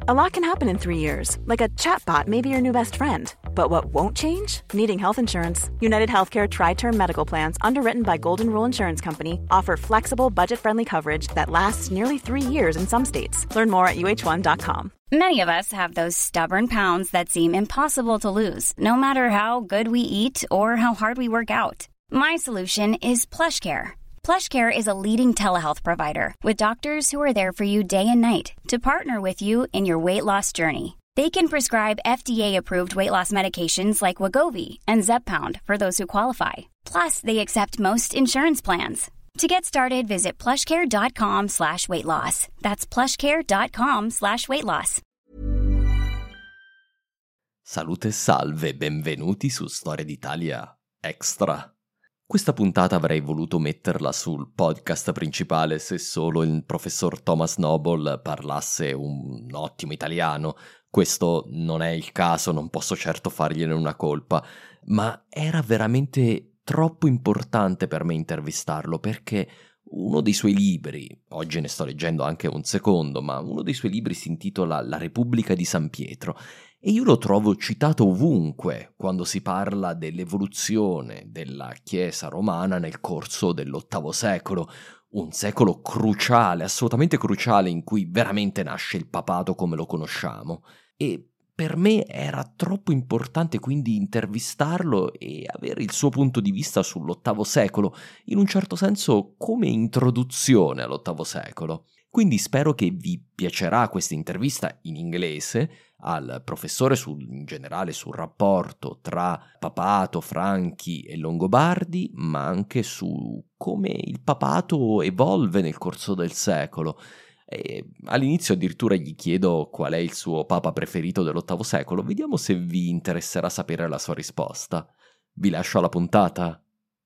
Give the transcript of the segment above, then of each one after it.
A lot can happen in 3 years, like a chatbot may be your new best friend. But what won't change? Needing health insurance. United Healthcare Tri-Term Medical Plans, underwritten by Golden Rule Insurance Company, offer flexible, budget-friendly coverage that lasts nearly 3 years in some states. Learn more at uh1.com. Many of us have those stubborn pounds that seem impossible to lose, no matter how good we eat or how hard we work out. My solution is PlushCare. PlushCare is a leading telehealth provider with doctors who are there for you day and night to partner with you in your weight loss journey. They can prescribe FDA-approved weight loss medications like Wegovy and Zepbound for those who qualify. Plus, they accept most insurance plans. To get started, visit plushcare.com/weightloss. That's plushcare.com/weightloss. Salute e salve, benvenuti su Storia d'Italia Extra. Questa puntata avrei voluto metterla sul podcast principale se solo il professor Thomas Noble parlasse un ottimo italiano. Questo non è il caso, non posso certo fargliene una colpa, ma era veramente troppo importante per me intervistarlo perché uno dei suoi libri, oggi ne sto leggendo anche un secondo, ma uno dei suoi libri si intitola La Repubblica di San Pietro e io lo trovo citato ovunque quando si parla dell'evoluzione della Chiesa romana nel corso dell'VIII secolo, un secolo cruciale, assolutamente cruciale, in cui veramente nasce il papato come lo conosciamo. E per me era troppo importante quindi intervistarlo e avere il suo punto di vista sull'VIII secolo, in un certo senso come introduzione all'VIII secolo. Quindi spero che vi piacerà questa intervista in inglese al professore in generale sul rapporto tra papato, franchi e longobardi, ma anche su come il papato evolve nel corso del secolo. E all'inizio addirittura gli chiedo qual è il suo papa preferito dell'VIII secolo. Vediamo se vi interesserà sapere la sua risposta. Vi lascio alla puntata.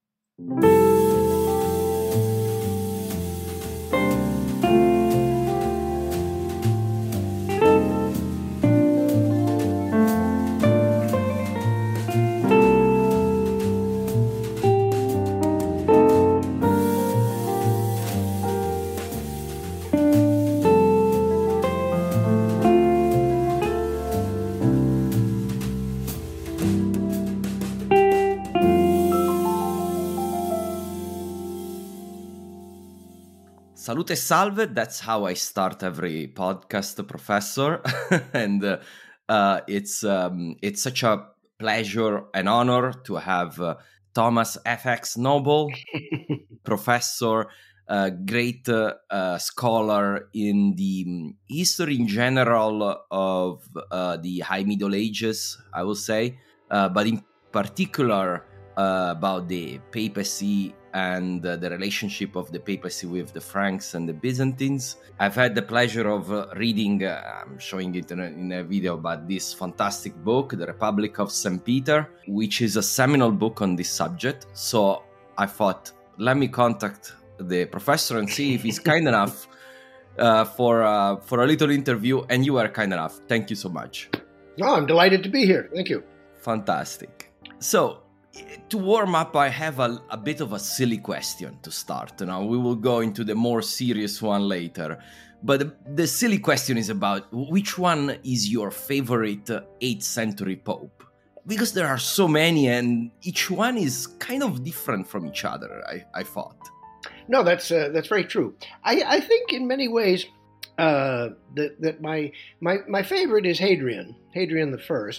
Salute e salve, that's how I start every podcast, Professor. And it's such a pleasure and honor to have Thomas F.X. Noble, Professor, great scholar in the history in general of the High Middle Ages, I will say, but in particular about the papacy and the relationship of the papacy with the Franks and the Byzantines. I've had the pleasure of reading, I'm showing it in a video, about this fantastic book, The Republic of St. Peter, which is a seminal book on this subject. So I thought, let me contact the professor and see if he's kind enough for a little interview, and you are kind enough. Thank you so much. Oh, I'm delighted to be here. Thank you. Fantastic. So, to warm up, I have a bit of a silly question to start. Now, we will go into the more serious one later. But the silly question is about which one is your favorite 8th century pope? Because there are so many and each one is kind of different from each other, I thought. No, that's very true. I think in many ways that my favorite is Hadrian I.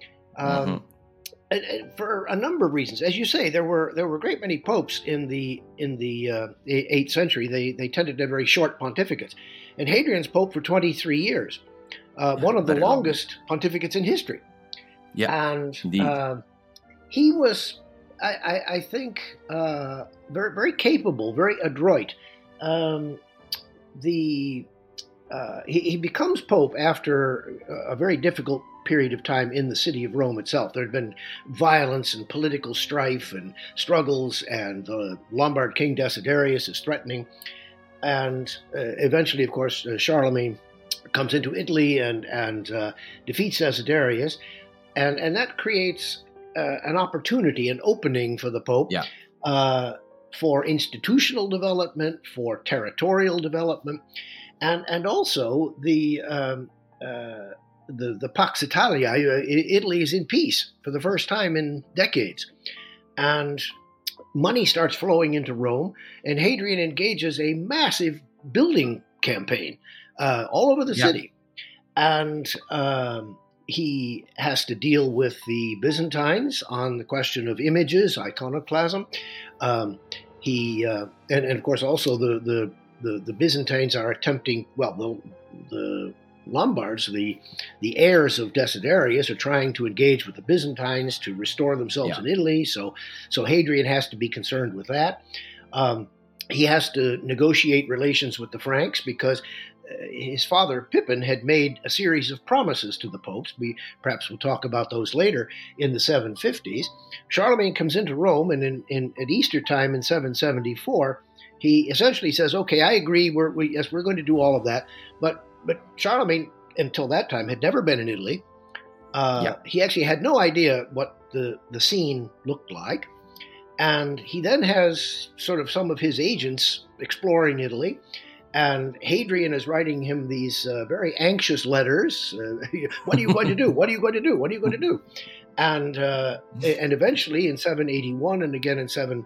For a number of reasons. As you say, there were a great many popes in the 8th century. They tended to have very short pontificates. And Hadrian's pope for 23 years, one of the longest pontificates in history. Yeah, and he was, I think, very, very capable, very adroit. He becomes pope after a very difficult period of time in the city of Rome itself. There had been violence and political strife and struggles, and the Lombard king Desiderius is threatening. And eventually, of course, Charlemagne comes into Italy and defeats Desiderius. And that creates an opportunity, an opening for the Pope for institutional development, for territorial development, and also the the Pax Italia, Italy is in peace for the first time in decades. And money starts flowing into Rome, and Hadrian engages a massive building campaign all over the city. And he has to deal with the Byzantines on the question of images, iconoclasm. And of course also the Byzantines are attempting, the Lombards, the heirs of Desiderius, are trying to engage with the Byzantines to restore themselves in Italy. So Hadrian has to be concerned with that. He has to negotiate relations with the Franks because his father Pippin had made a series of promises to the popes. Perhaps we'll talk about those later in the 750s. Charlemagne comes into Rome, and at Easter time in 774, he essentially says, "Okay, I agree. We're going to do all of that." But Charlemagne, until that time, had never been in Italy. He actually had no idea what the scene looked like. And he then has sort of some of his agents exploring Italy. And Hadrian is writing him these very anxious letters. What are you going to do? What are you going to do? What are you going to do? And eventually in 781 and again in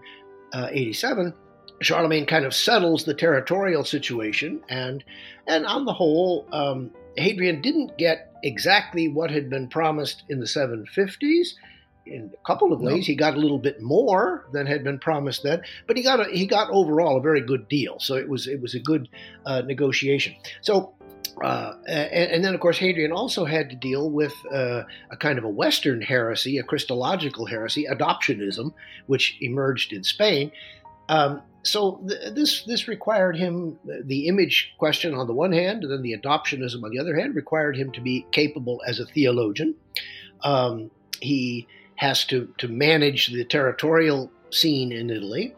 787, Charlemagne kind of settles the territorial situation. And on the whole, Hadrian didn't get exactly what had been promised in the 750s. In a couple of ways, he got a little bit more than had been promised then, but he got overall a very good deal. So it was a good negotiation. So and then of course Hadrian also had to deal with a kind of a Western heresy, a Christological heresy, adoptionism, which emerged in Spain. So this required him, the image question on the one hand, and then the adoptionism on the other hand, required him to be capable as a theologian. He has to manage the territorial scene in Italy.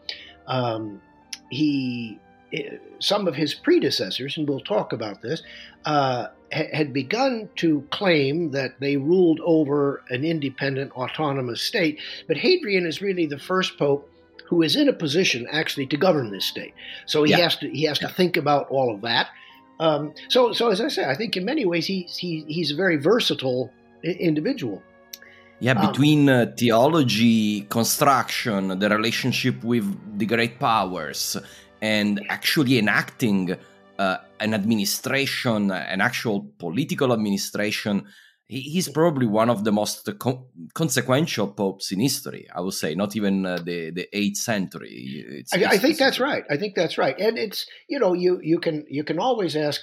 Some of his predecessors, and we'll talk about this, had begun to claim that they ruled over an independent, autonomous state. But Hadrian is really the first pope who is in a position actually to govern this state. So he has to think about all of that. So as I say, I think in many ways he's a very versatile individual. Yeah, between theology, construction, the relationship with the great powers, and actually enacting an administration, an actual political administration, he's probably one of the most consequential popes in history, I would say, not even the 8th century. I think that's right. I think that's right. And it's, you can always ask,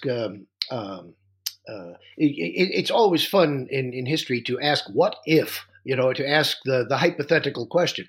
it's always fun in history to ask what if, to ask the hypothetical question.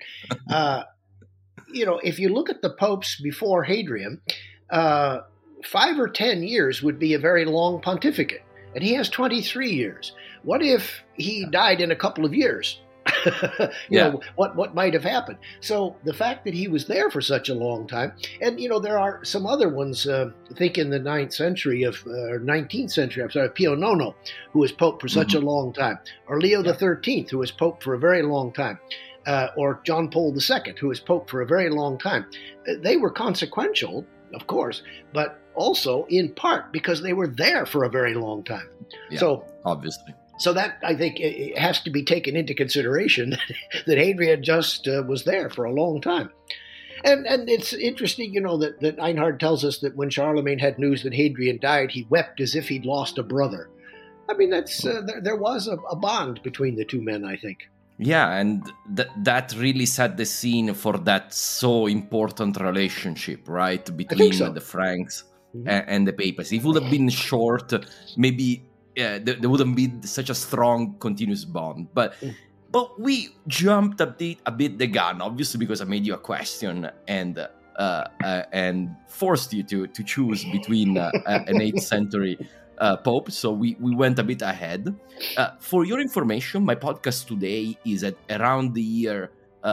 If you look at the popes before Hadrian, 5 or 10 years would be a very long pontificate, and he has 23 years. What if he died in a couple of years? What might have happened? So the fact that he was there for such a long time, and there are some other ones. I think in the 19th century, Pio IX, who was pope for such a long time, or Leo XIII, who was pope for a very long time, or John Paul II, who was pope for a very long time. They were consequential, of course, but also in part because they were there for a very long time. Yeah, so obviously. So that, I think, it has to be taken into consideration that Hadrian just was there for a long time. And it's interesting, that Einhard tells us that when Charlemagne had news that Hadrian died, he wept as if he'd lost a brother. I mean, that's there was a bond between the two men, I think. Yeah, and that really set the scene for that so important relationship, right, between the Franks and the papacy. If it would have been short, maybe there wouldn't be such a strong, continuous bond. But we jumped a bit the gun, obviously, because I made you a question and forced you to choose between an 8th century pope. So we went a bit ahead. For your information, my podcast today is at around the year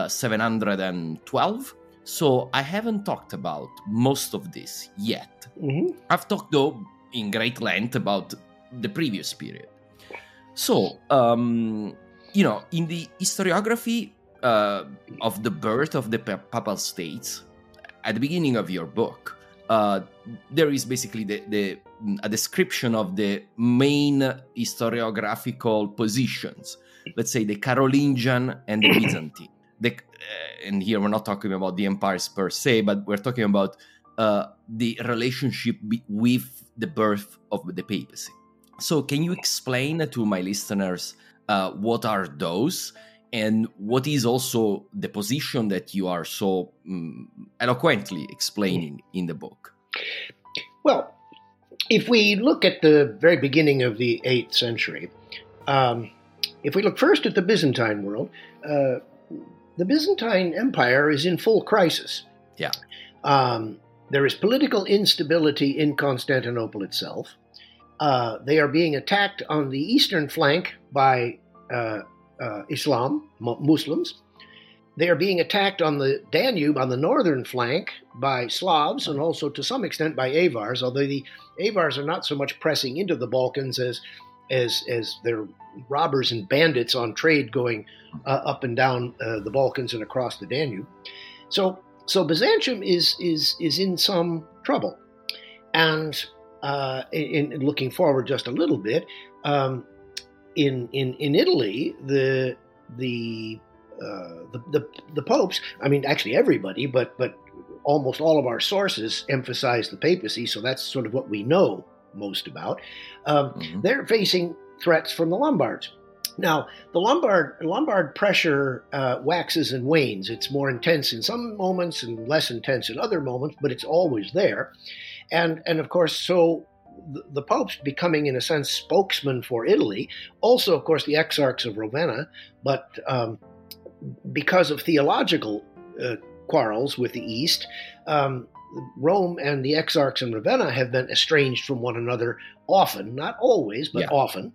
712. So I haven't talked about most of this yet. I've talked, though, in great length about the previous period. So, in the historiography of the birth of the Papal States, at the beginning of your book, there is basically a description of the main historiographical positions. Let's say the Carolingian and the Byzantine. And here we're not talking about the empires per se, but we're talking about the relationship with the birth of the papacy. So can you explain to my listeners what are those, and what is also the position that you are so eloquently explaining in the book? Well, if we look at the very beginning of the 8th century, if we look first at the Byzantine world, the Byzantine Empire is in full crisis. Yeah. There is political instability in Constantinople itself. They are being attacked on the eastern flank by Muslims. They are being attacked on the Danube, on the northern flank, by Slavs, and also to some extent by Avars, although the Avars are not so much pressing into the Balkans as they're robbers and bandits on trade going up and down the Balkans and across the Danube. So Byzantium is in some trouble. And in looking forward just a little bit, in Italy, the popes, I mean, actually everybody, but almost all of our sources emphasize the papacy, so that's sort of what we know most about. They're facing threats from the Lombards. Now, the Lombard pressure waxes and wanes. It's more intense in some moments and less intense in other moments, but it's always there. And of course, so the popes becoming, in a sense, spokesman for Italy. Also, of course, the exarchs of Ravenna, but because of theological quarrels with the East, Rome and the exarchs in Ravenna have been estranged from one another often, not always, but often.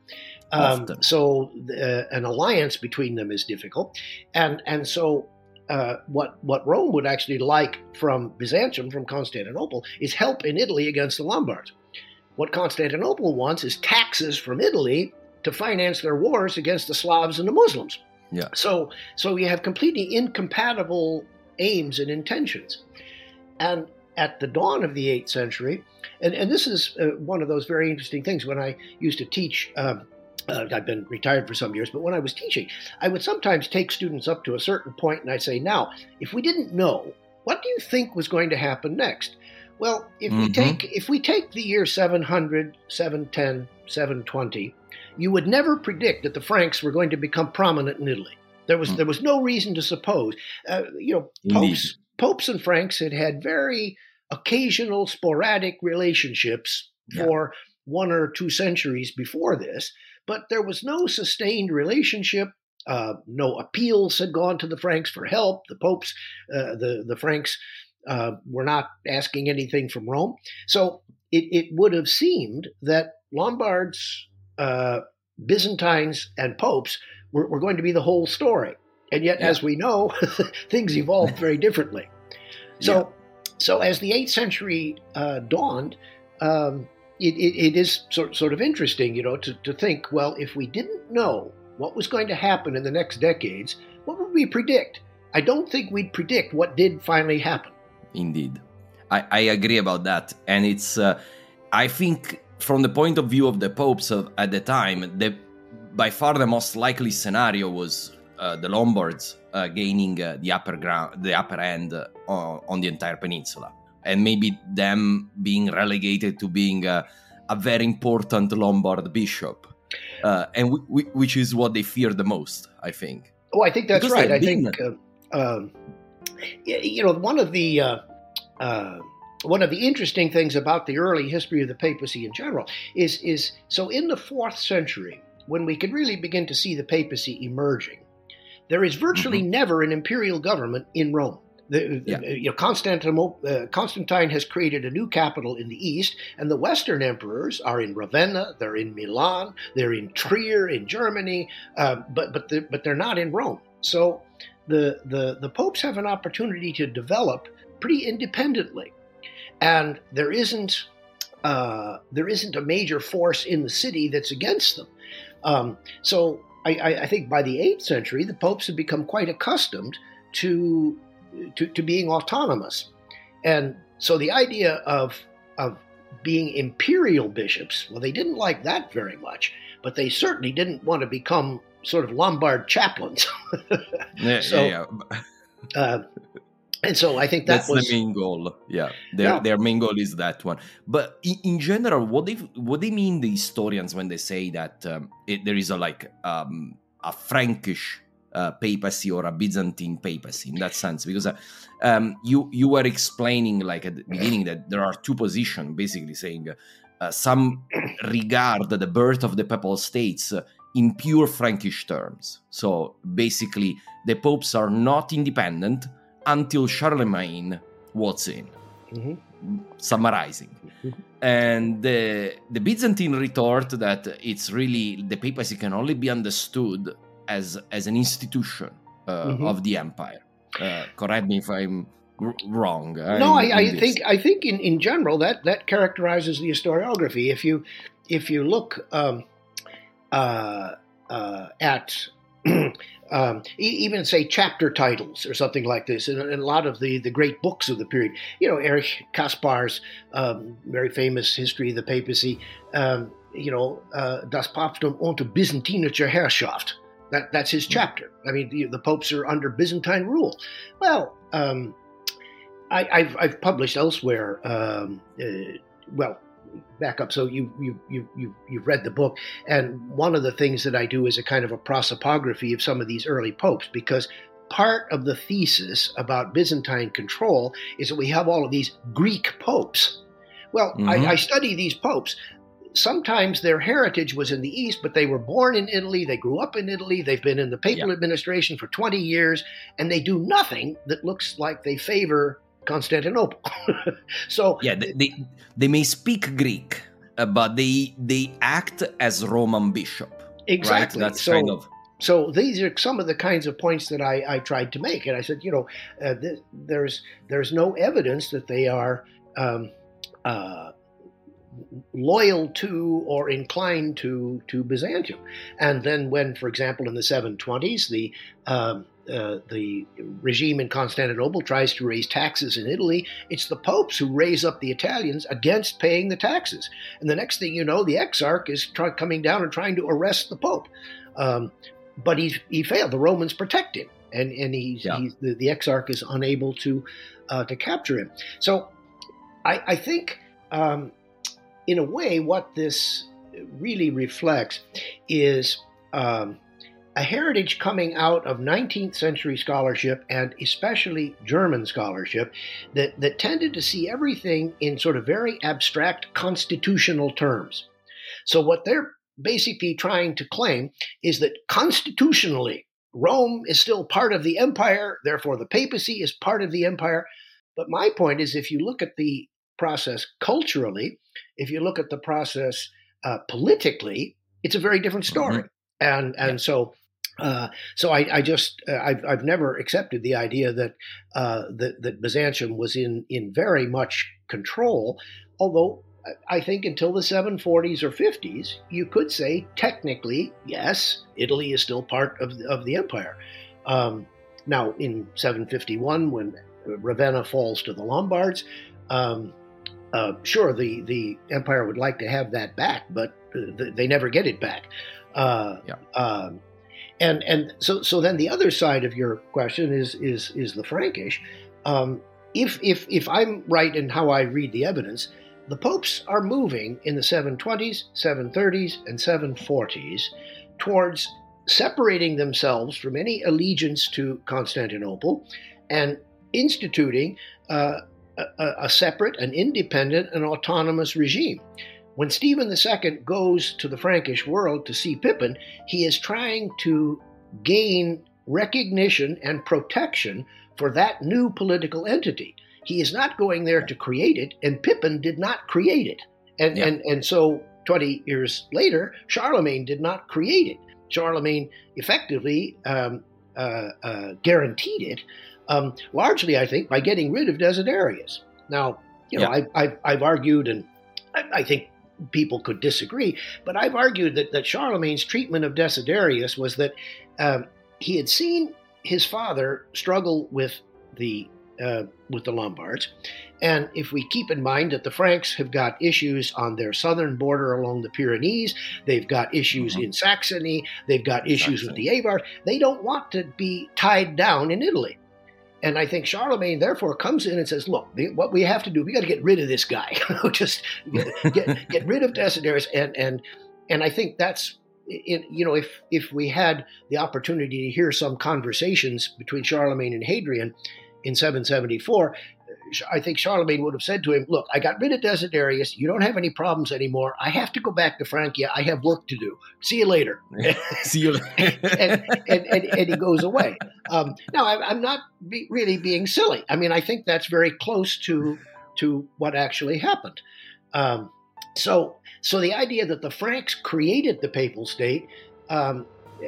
So an alliance between them is difficult. And so what Rome would actually like from Byzantium, from Constantinople, is help in Italy against the Lombards. What Constantinople wants is taxes from Italy to finance their wars against the Slavs and the Muslims. Yeah. So you have completely incompatible aims and intentions. And at the dawn of the 8th century, and this is one of those very interesting things, when I used to teach, I've been retired for some years, but when I was teaching, I would sometimes take students up to a certain point and I'd say, now, if we didn't know, what do you think was going to happen next? Well, if we take the year 700, 710, 720, you would never predict that the Franks were going to become prominent in Italy. There was no reason to suppose. Popes and Franks had very occasional, sporadic relationships for 1 or 2 centuries before this, but there was no sustained relationship. No appeals had gone to the Franks for help. The popes, the Franks, were not asking anything from Rome. So it would have seemed that Lombards, Byzantines, and popes were going to be the whole story. And yet, as we know, things evolved very differently. So as the 8th century dawned, it is sort of interesting, to think, well, if we didn't know what was going to happen in the next decades, what would we predict? I don't think we'd predict what did finally happen. Indeed. I agree about that. And it's, I think, from the point of view of the popes at the time, by far the most likely scenario was the Lombards gaining the upper end on the entire peninsula, and maybe them being relegated to being a very important Lombard bishop, and which is what they fear the most, I think. Oh, I think that's because right. I think one of the interesting things about the early history of the papacy in general is so in the 4th century, when we could really begin to see the papacy emerging, there is virtually never an imperial government in Rome. Constantine has created a new capital in the east, and the Western emperors are in Ravenna, they're in Milan, they're in Trier in Germany, but they're not in Rome. So the popes have an opportunity to develop pretty independently, and there isn't a major force in the city that's against them. So I think by the 8th century, the popes have become quite accustomed to being autonomous. And So the idea of being imperial bishops, well, they didn't like that very much, but they certainly didn't want to become sort of Lombard chaplains. And so I think that's the main goal. Yeah, their main goal is that one. But in general, what they mean, the historians, when they say that there is a Frankish papacy or a Byzantine papacy in that sense, because you were explaining like at the beginning that there are two positions, basically saying some regard the birth of the Papal States in pure Frankish terms. So basically, the popes are not independent until Charlemagne walks in, summarizing. And the Byzantine retort that it's really the papacy can only be understood as an institution of the empire. Correct me if I'm wrong. No, I think in general that characterizes the historiography. If you look at even say chapter titles or something like this, in a lot of the great books of the period, Erich Kaspar's very famous History of the Papacy, Das Papsttum unter byzantinischer Herrschaft. That's his chapter. I mean, the popes are under Byzantine rule. Well, I've published elsewhere. Back up. So you've read the book, and one of the things that I do is a kind of a prosopography of some of these early popes, because part of the thesis about Byzantine control is that we have all of these Greek popes. Well, I study these popes. Sometimes their heritage was in the East, but they were born in Italy. They grew up in Italy. They've been in the papal administration for 20 years, and they do nothing that looks like they favor Constantinople. So they may speak Greek, but they act as Roman bishop. Exactly. Right? That's So these are some of the kinds of points that I tried to make, and I said, there's no evidence that they are loyal to or inclined to Byzantium. And then when, for example, in the 720s, the regime in Constantinople tries to raise taxes in Italy, it's the popes who raise up the Italians against paying the taxes. And the next thing you know, the exarch is coming down and trying to arrest the pope. But he failed. The Romans protect him, and the exarch is unable to capture him. So I think, in a way, what this really reflects is a heritage coming out of 19th century scholarship, and especially German scholarship, that tended to see everything in sort of very abstract constitutional terms. So what they're basically trying to claim is that constitutionally, Rome is still part of the empire, therefore the papacy is part of the empire. But my point is, if you look at the process culturally, if you look at the process politically, it's a very different story. So I've never accepted the idea that Byzantium was in very much control, although I think until the 740s or 50s, you could say technically, yes, Italy is still part of the empire. Now, in 751, when Ravenna falls to the Lombards, sure, the empire would like to have that back, but they never get it back. And so then the other side of your question is the Frankish. If I'm right in how I read the evidence, the popes are moving in the 720s, 730s, and 740s towards separating themselves from any allegiance to Constantinople and instituting a separate, an independent, and autonomous regime. When Stephen II goes to the Frankish world to see Pippin, he is trying to gain recognition and protection for that new political entity. He is not going there to create it, and Pippin did not create it. And so 20 years later, Charlemagne did not create it. Charlemagne effectively guaranteed it, largely, I think, by getting rid of Desiderius. Now, I've argued, and I think people could disagree, but I've argued that Charlemagne's treatment of Desiderius was that he had seen his father struggle with the with the Lombards. And if we keep in mind that the Franks have got issues on their southern border along the Pyrenees, they've got issues in Saxony, they've got issues with the Avars, they don't want to be tied down in Italy. And I think Charlemagne, therefore, comes in and says, look, what we have to do, we got to get rid of this guy. Just get rid of Desiderius. And I think that's, if we had the opportunity to hear some conversations between Charlemagne and Hadrian in 774, I think Charlemagne would have said to him, look, I got rid of Desiderius. You don't have any problems anymore. I have to go back to Francia. I have work to do. See you later. See you later. and he goes away. Now, I'm not really being silly. I mean, I think that's very close to what actually happened. So the idea that the Franks created the papal state, I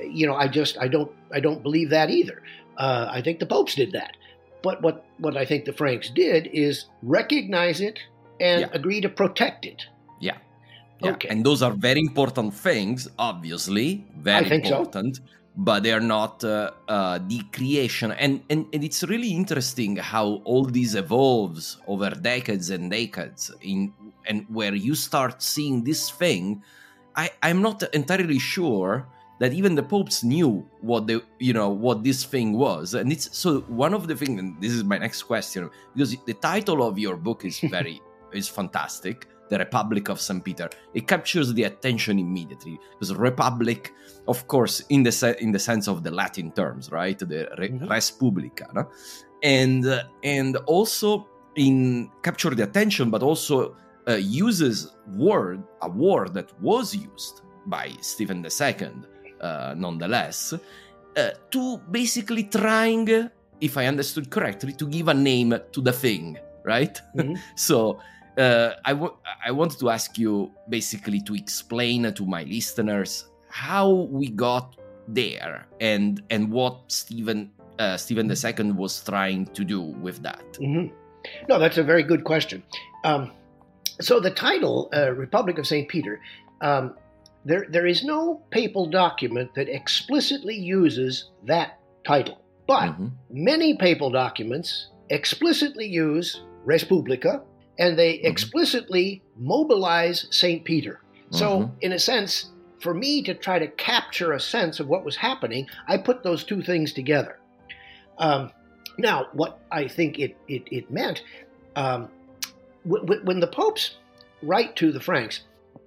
don't believe that either. I think the popes did that. But what I think the Franks did is recognize it and agree to protect it. Yeah. Okay. And those are very important things, obviously, very important. So. But they are not the creation. And it's really interesting how all this evolves over decades and decades. And where you start seeing this thing, I'm not entirely sure that even the popes knew what this thing was. And it's so one of the things, and this is my next question, because the title of your book is is fantastic, The Republic of St. Peter. It captures the attention immediately, because Republic, of course, in the sense of the Latin terms, right? The res publica, no? And also capture the attention, but also uses a word that was used by Stephen II, nonetheless, to basically trying, if I understood correctly, to give a name to the thing, right? Mm-hmm. So I wanted to ask you basically to explain to my listeners how we got there and what Stephen II was trying to do with that. Mm-hmm. No, that's a very good question. So the title, Republic of St. Peter, there is no papal document that explicitly uses that title. But many papal documents explicitly use Res Publica, and they explicitly mobilize St. Peter. So in a sense, for me to try to capture a sense of what was happening, I put those two things together. Now, what I think it meant, when the popes write to the Franks,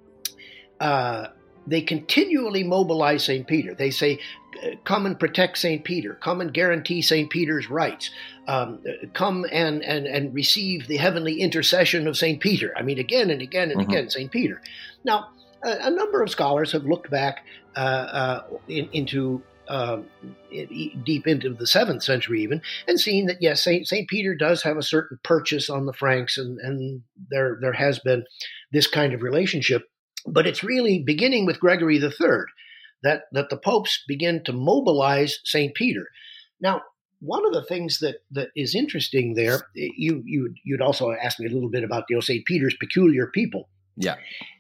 they continually mobilize St. Peter. They say, come and protect St. Peter. Come and guarantee St. Peter's rights. Come and receive the heavenly intercession of St. Peter. I mean, again and again and again, St. Peter. Now, a number of scholars have looked back into deep into the 7th century even, and seen that, yes, St. Peter does have a certain purchase on the Franks, and there has been this kind of relationship. But it's really beginning with Gregory III that the popes begin to mobilize St. Peter. Now, one of the things that is interesting there, you'd also asked me a little bit about St. Peter's peculiar people. Yeah.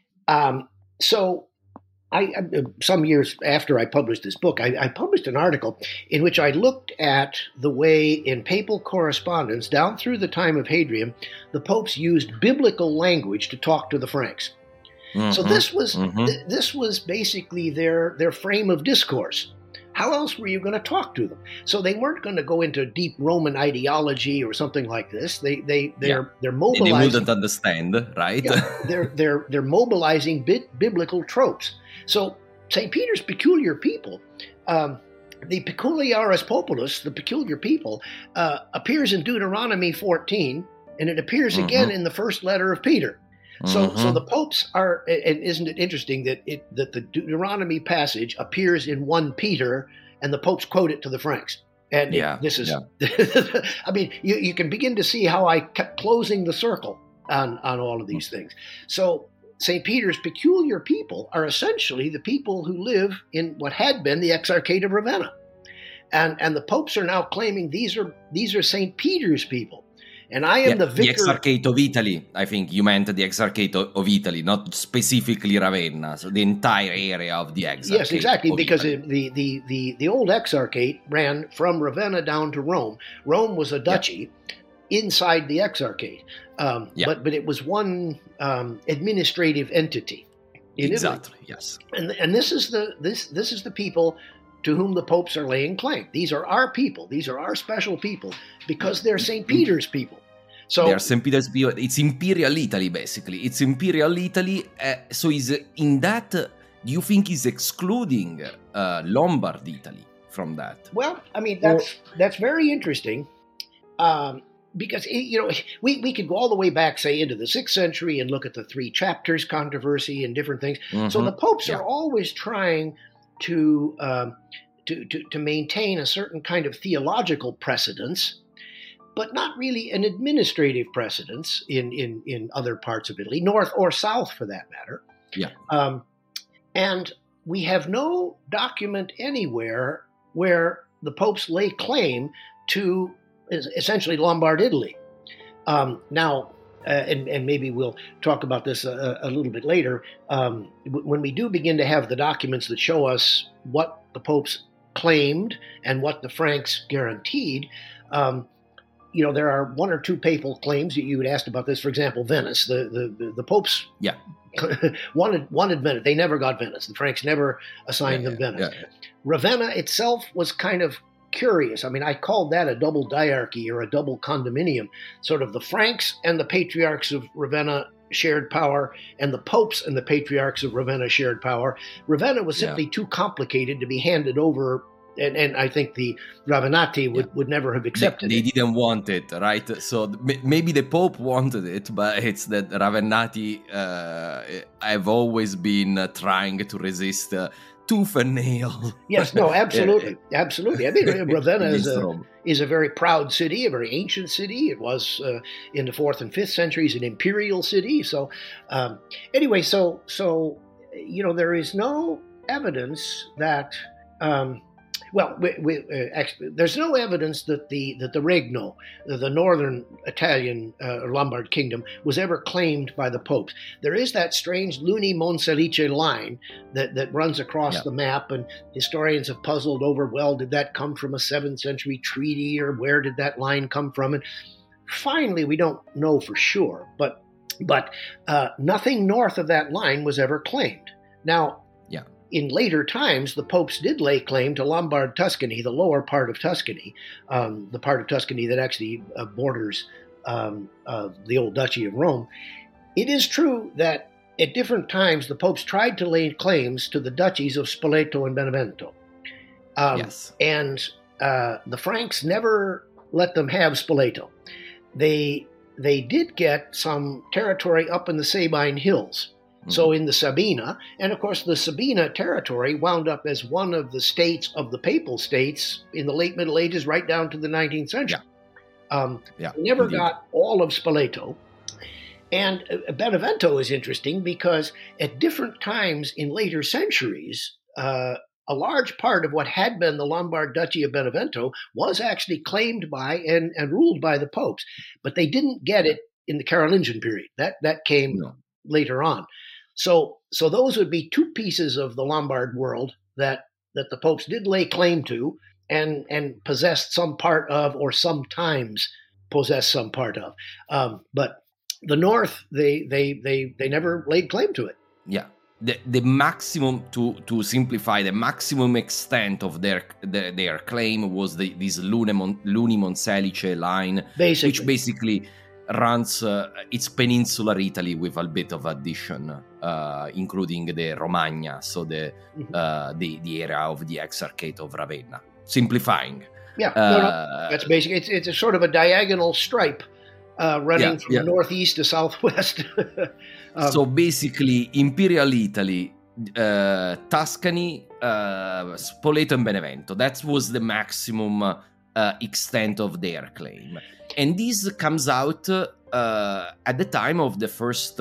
So I some years after I published this book, I published an article in which I looked at the way in papal correspondence down through the time of Hadrian, the popes used biblical language to talk to the Franks. So this was basically their frame of discourse. How else were you going to talk to them? So they weren't going to go into deep Roman ideology or something like this. They're mobilizing. They wouldn't understand, right? Yeah, they're mobilizing biblical tropes. So St. Peter's peculiar people, the peculiaris populus, the peculiar people, appears in Deuteronomy 14, and it appears again in the first letter of Peter. So the popes are, and isn't it interesting that the Deuteronomy passage appears in 1 Peter, and the popes quote it to the Franks. And this is, I mean, you can begin to see how I kept closing the circle on all of these things. So St. Peter's peculiar people are essentially the people who live in what had been the Exarchate of Ravenna. And the popes are now claiming these are St. Peter's people. And I am the vicar. The Exarchate of Italy. I think you meant the Exarchate of Italy, not specifically Ravenna. So the entire area of the Exarchate. Yes, exactly, because the old Exarchate ran from Ravenna down to Rome. Rome was a duchy, inside the Exarchate. But it was one administrative entity in exactly, Italy. yes. And this is the people to whom the popes are laying claim. These are our people. These are our special people because they're St. Peter's people. So they are St. Peter's people. It's Imperial Italy, basically. It's Imperial Italy. So is in that, do you think is excluding Lombard Italy from that? Well, I mean, that's very interesting. Because, we could go all the way back, say, into the 6th century and look at the Three Chapters controversy and different things. Mm-hmm. So the popes are always trying to maintain a certain kind of theological precedence, but not really an administrative precedence in other parts of Italy, north or south for that matter. Yeah. And we have no document anywhere where the popes lay claim to essentially Lombard Italy. Now, and maybe we'll talk about this a little bit later, when we do begin to have the documents that show us what the popes claimed and what the Franks guaranteed, there are one or two papal claims that you had asked about this. For example, Venice, the popes wanted Venice. They never got Venice. The Franks never assigned them Venice. Yeah. Ravenna itself was kind of curious. I mean, I called that a double diarchy or a double condominium. Sort of the Franks and the patriarchs of Ravenna shared power, and the popes and the patriarchs of Ravenna shared power. Ravenna was simply too complicated to be handed over, and I think the Ravenati would never have accepted it. They didn't want it, right? So maybe the Pope wanted it, but it's that Ravenati have always been trying to resist tooth and nail. Yes, no, absolutely. Absolutely. I mean, Ravenna is a very proud city, a very ancient city. It was in the 4th and 5th centuries an imperial city. So anyway, so there is no evidence that actually, there's no evidence that the Regno, the northern Italian Lombard kingdom, was ever claimed by the popes. There is that strange Luni Monselice line that runs across the map, and historians have puzzled over, well, did that come from a 7th century treaty, or where did that line come from? And finally, we don't know for sure, but nothing north of that line was ever claimed. Now, in later times, the popes did lay claim to Lombard Tuscany, the lower part of Tuscany, the part of Tuscany that actually borders the old Duchy of Rome. It is true that at different times the popes tried to lay claims to the duchies of Spoleto and Benevento. And the Franks never let them have Spoleto. They did get some territory up in the Sabine Hills. So in the Sabina, and of course the Sabina territory wound up as one of the states of the papal states in the late Middle Ages right down to the 19th century. They never got all of Spoleto. And Benevento is interesting because at different times in later centuries, a large part of what had been the Lombard Duchy of Benevento was actually claimed by and ruled by the popes. But they didn't get it in the Carolingian period. That came later on. So those would be two pieces of the Lombard world that the popes did lay claim to and possessed some part of, or sometimes possessed some part of. But the north, they never laid claim to it. Yeah. The maximum, to simplify, the maximum extent of their claim was this Luni Monselice line, which basically runs its peninsular Italy with a bit of addition, including the Romagna, so the area of the Exarchate of Ravenna. Simplifying. That's basic. It's a sort of a diagonal stripe running from the northeast to southwest. So basically, Imperial Italy, Tuscany, Spoleto and Benevento. That was the maximum extent of their claim. And this comes out at the time of the first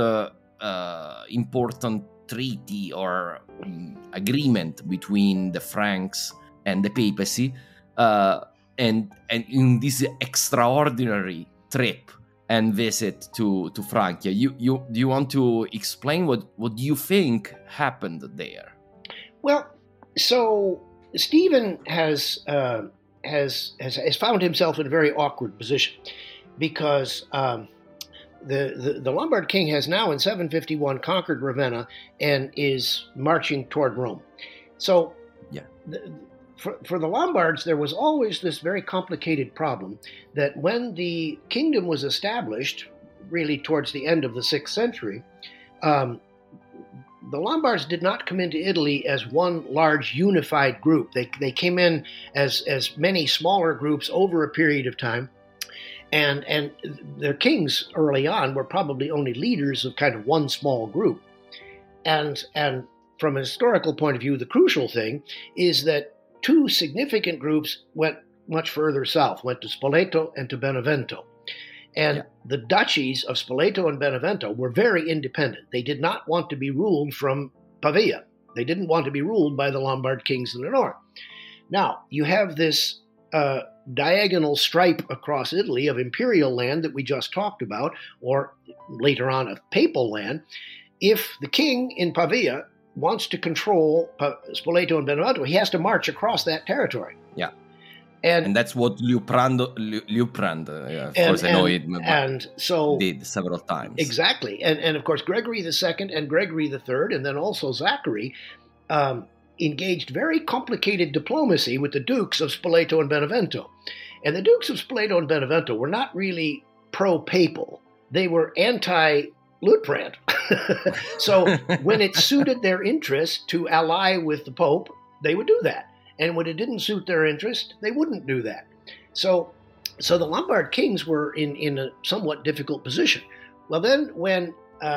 important treaty or agreement between the Franks and the papacy, and in this extraordinary trip and visit to Francia. Do you want to explain what do you think happened there? Well, so Stephen has found himself in a very awkward position. because the Lombard king has now in 751 conquered Ravenna and is marching toward Rome. So for the Lombards, there was always this very complicated problem that when the kingdom was established, really towards the end of the 6th century, the Lombards did not come into Italy as one large unified group. They came in as many smaller groups over a period of time. And their kings early on were probably only leaders of kind of one small group. And from a historical point of view, the crucial thing is that two significant groups went much further south, went to Spoleto and to Benevento. And the duchies of Spoleto and Benevento were very independent. They did not want to be ruled from Pavia. They didn't want to be ruled by the Lombard kings in the north. Now, you have this diagonal stripe across Italy of imperial land that we just talked about, or later on of papal land. If the king in Pavia wants to control Spoleto and Benevento, he has to march across that territory. Yeah. And that's what Liutprand, did several times. Exactly. And of course, Gregory II and Gregory III, and then also Zachary, engaged very complicated diplomacy with the dukes of Spoleto and Benevento. And the dukes of Spoleto and Benevento were not really pro-papal. They were anti-Liutprand. So when it suited their interest to ally with the Pope, they would do that. And when it didn't suit their interest, they wouldn't do that. So the Lombard kings were in a somewhat difficult position. Well, then when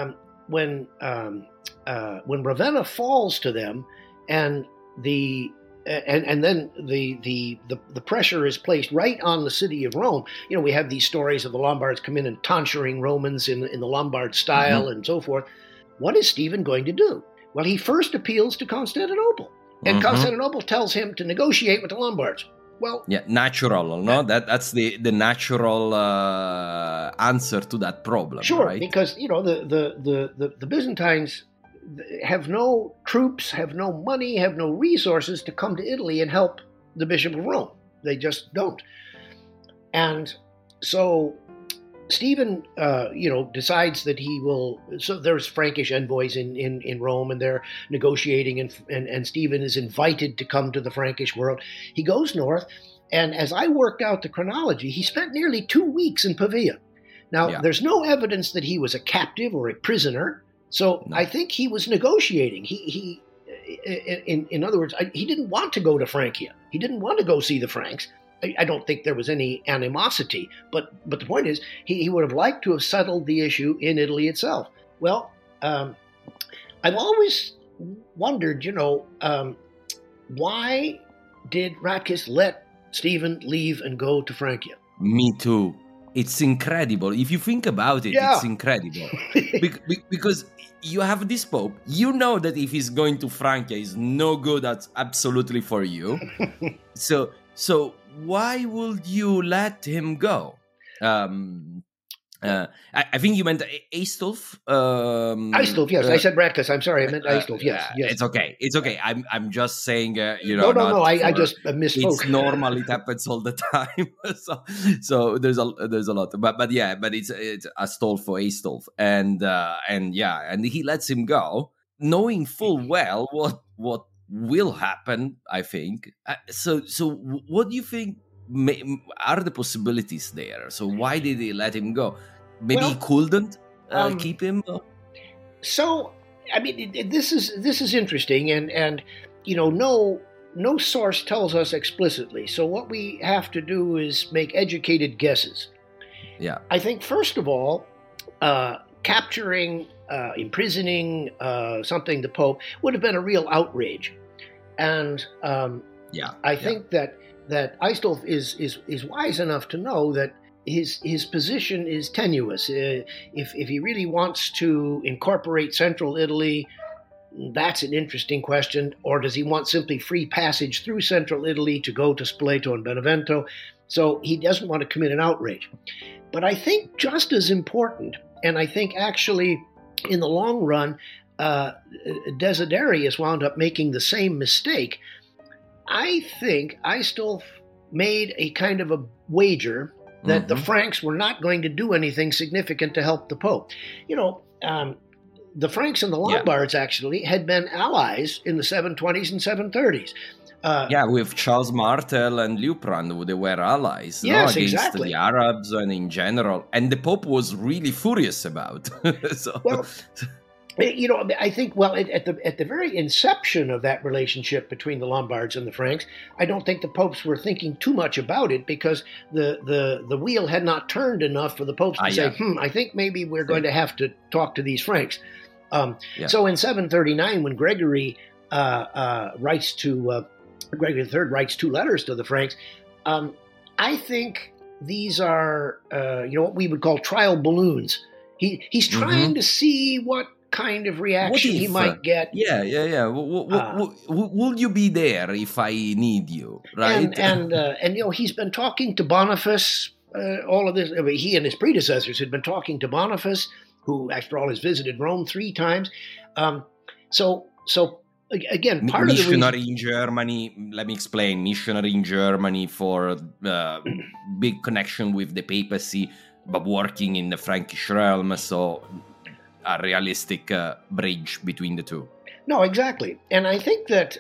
Ravenna falls to them, and then the pressure is placed right on the city of Rome. You know, we have these stories of the Lombards come in and tonsuring Romans in the Lombard style and so forth. What is Stephen going to do? Well, he first appeals to Constantinople. And Constantinople tells him to negotiate with the Lombards. Well, natural, no? That's the natural answer to that problem. Sure, right? Because the Byzantines have no troops, have no money, have no resources to come to Italy and help the Bishop of Rome. They just don't. And so Stephen, decides that he will. So there's Frankish envoys in Rome, and they're negotiating, and Stephen is invited to come to the Frankish world. He goes north, and as I worked out the chronology, he spent nearly 2 weeks in Pavia. Now, there's no evidence that he was a captive or a prisoner, so I think he was negotiating. In other words, he didn't want to go to Francia. He didn't want to go see the Franks. I don't think there was any animosity, but the point is, he would have liked to have settled the issue in Italy itself. Well, I've always wondered, why did Ratchis let Stephen leave and go to Francia? Me too. It's incredible. If you think about it, it's incredible. Because you have this Pope, you know that if he's going to Francia, he's no good at absolutely for you. So why would you let him go? I think you meant Aistulf. Aistulf, yes. I said Ratchis. I'm sorry. I meant Aistulf. Yes. It's okay. It's okay. I'm just saying. No. I just misspoke. It's normal. It happens all the time. so there's a lot. But it's Astolfo for Aistulf, and he lets him go, knowing full well what will happen. I think. So what do you think? Are the possibilities there? So why did they let him go? Maybe he couldn't keep him. So I mean, this is interesting, and no source tells us explicitly. So what we have to do is make educated guesses. Yeah, I think first of all, capturing, imprisoning something the Pope would have been a real outrage, and I think that Aistulf is wise enough to know that his position is tenuous. If he really wants to incorporate Central Italy, that's an interesting question. Or does he want simply free passage through Central Italy to go to Spoleto and Benevento? So he doesn't want to commit an outrage. But I think just as important, and I think actually in the long run, Desiderius wound up making the same mistake. I think Aistulf made a kind of a wager that the Franks were not going to do anything significant to help the Pope. The Franks and the Lombards actually had been allies in the 720s and 730s. With Charles Martel and Liutprand, they were allies against exactly. the Arabs and in general. And the Pope was really furious about. I think, at the very inception of that relationship between the Lombards and the Franks, I don't think the popes were thinking too much about it, because the wheel had not turned enough for the popes to say, I think maybe we're going to have to talk to these Franks. So in 739, when Gregory Gregory III writes 2 letters to the Franks, I think these are what we would call trial balloons. He's trying to see what kind of reaction he might get. Will you be there if I need you? Right? And he's been talking to Boniface. All of this, he and his predecessors had been talking to Boniface, who, after all, has visited Rome 3 times. So again, part of the missionary in Germany. Let me explain. Missionary in Germany for big connection with the papacy, but working in the Frankish realm. So a realistic bridge between the two. No, exactly, and I think in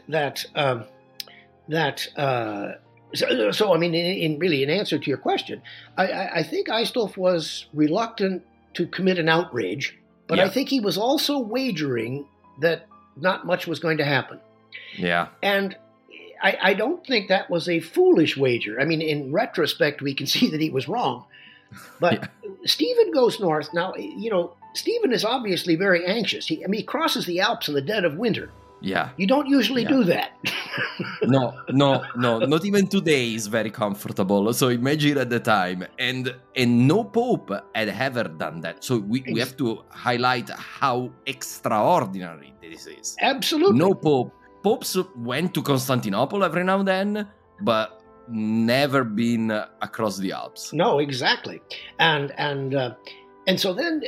answer to your question, I think Aistulf was reluctant to commit an outrage, but I think he was also wagering that not much was going to happen. Yeah, and I don't think that was a foolish wager. I mean, in retrospect, we can see that he was wrong, but Stephen goes north now. Stephen is obviously very anxious. He crosses the Alps in the dead of winter. Yeah. You don't usually do that. No. Not even today is very comfortable. So imagine at the time. And no Pope had ever done that. So we have to highlight how extraordinary this is. Absolutely. No Pope. Popes went to Constantinople every now and then, but never been across the Alps. No, exactly. And so then,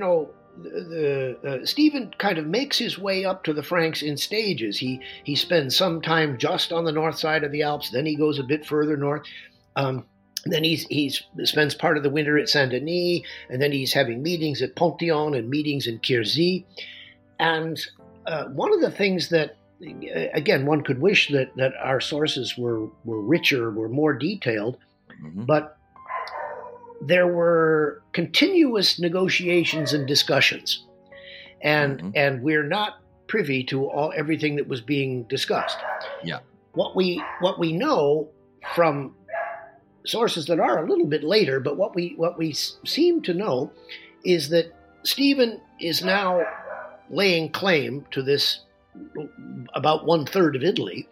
Stephen kind of makes his way up to the Franks in stages. He spends some time just on the north side of the Alps. Then he goes a bit further north. Then he spends part of the winter at Saint Denis, and then he's having meetings at Ponthion and meetings in Quierzy. And one of the things that, again, one could wish that our sources were richer, were more detailed, but there were continuous negotiations and discussions, and we're not privy to everything that was being discussed. Yeah. What we know from sources that are a little bit later, but what we seem to know is that Stephen is now laying claim to this about 1/3 of Italy.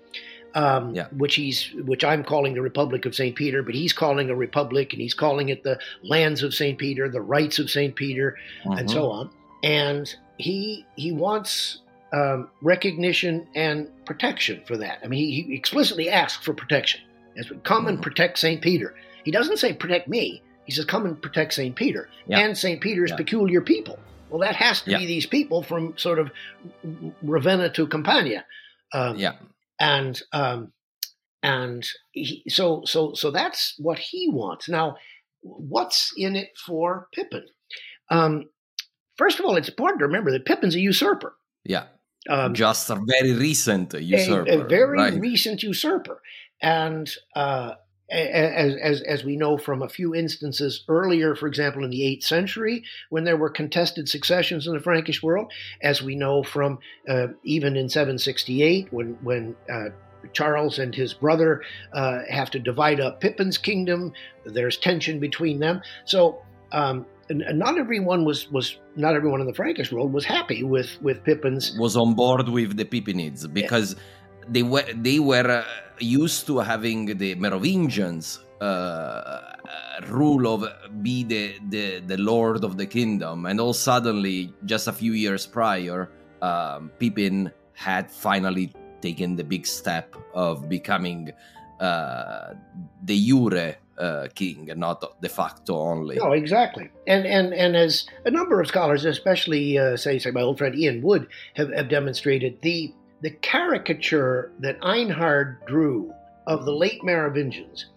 Which I'm calling the Republic of St. Peter, but he's calling a republic, and he's calling it the lands of St. Peter, the rights of St. Peter, and so on. And he wants recognition and protection for that. I mean, he explicitly asks for protection. Come and protect St. Peter. He doesn't say protect me. He says come and protect St. Peter and St. Peter's peculiar people. Well, that has to be these people from sort of Ravenna to Campania. So that's what he wants. Now, what's in it for Pippin? First of all, it's important to remember that Pippin's a usurper. Yeah, just a very recent usurper. A very recent usurper. And as we know from a few instances earlier, for example, in the 8th century, when there were contested successions in the Frankish world, as we know from even in 768, when Charles and his brother have to divide up Pippin's kingdom, there's tension between them. So not everyone in the Frankish world was happy with Pippin's. Was on board with the Pippinids because they were used to having the Merovingians rule of be the lord of the kingdom, and all suddenly, just a few years prior, Pippin had finally taken the big step of becoming de jure king, not de facto only. No, exactly. And as a number of scholars, especially say my old friend Ian Wood, have demonstrated, the caricature that Einhard drew of the late Merovingians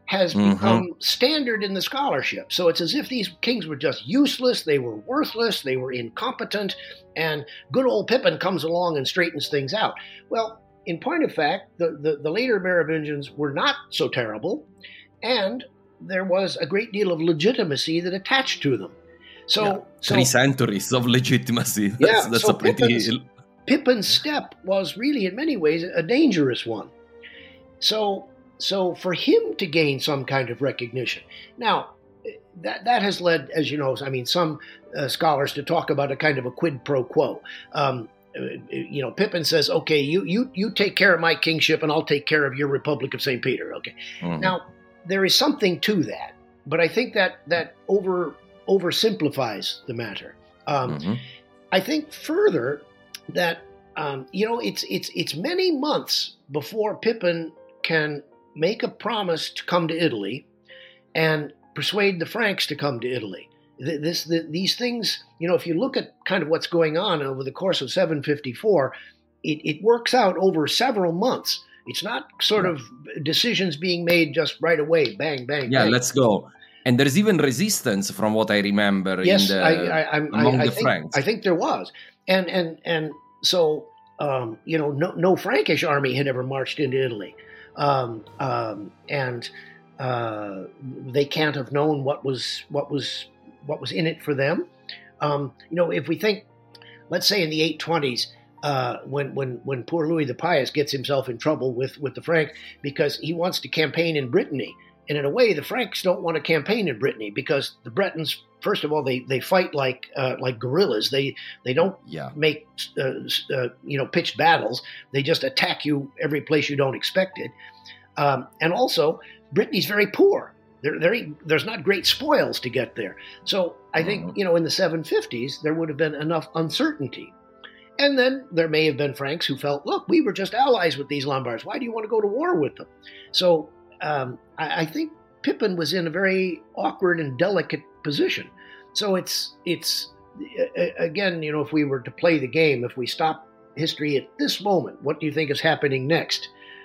has become standard in the scholarship. So it's as if these kings were just useless, they were worthless, they were incompetent, and good old Pippin comes along and straightens things out. Well, in point of fact, the later Merovingians were not so terrible, and there was a great deal of legitimacy that attached to them. So 3 centuries of legitimacy. That's so a pretty... Pippin's step was really, in many ways, a dangerous one. So for him to gain some kind of recognition. Now, that has led, as you know, some scholars to talk about a kind of a quid pro quo. Pippin says, okay, you take care of my kingship and I'll take care of your Republic of St. Peter. Okay. Now, there is something to that, but I think that oversimplifies the matter. I think further that, it's many months before Pippin can make a promise to come to Italy and persuade the Franks to come to Italy. These things, if you look at kind of what's going on over the course of 754, it works out over several months. It's not sort of decisions being made just right away, bang, bang, bang. Let's go. And there's even resistance from what I remember among the Franks. I think there was. And so, no Frankish army had ever marched into Italy. And they can't have known what was in it for them. If we think, let's say in the 820s, when poor Louis the Pious gets himself in trouble with the Franks because he wants to campaign in Brittany, and in a way the Franks don't want to campaign in Brittany because the Bretons, first of all, they fight like guerrillas. They don't make pitched battles. They just attack you every place you don't expect it. And also, Brittany's very poor. There's not great spoils to get there. So I think, in the 750s, there would have been enough uncertainty. And then there may have been Franks who felt, look, we were just allies with these Lombards. Why do you want to go to war with them? So I think Pippin was in a very awkward and delicate position. So it's again, if we were to play the game, if we stop history at this moment, what do you think is happening next?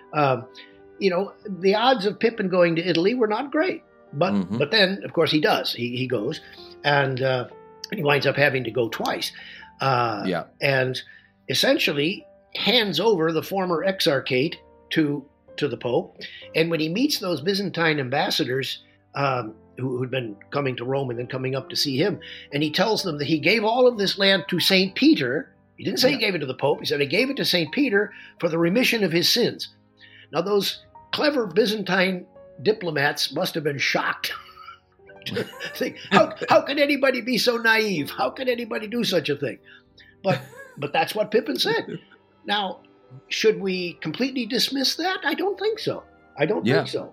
The odds of Pippin going to Italy were not great. But then, of course, he does. He goes, and he winds up having to go twice. And essentially hands over the former exarchate to the Pope. And when he meets those Byzantine ambassadors who had been coming to Rome and then coming up to see him, and he tells them that he gave all of this land to St. Peter. He didn't say he gave it to the Pope. He said he gave it to St. Peter for the remission of his sins. Now, those clever Byzantine diplomats must have been shocked. Think, how can anybody be so naive? How can anybody do such a thing? But that's what Pippin said. Now, should we completely dismiss that? I don't think so. I think so.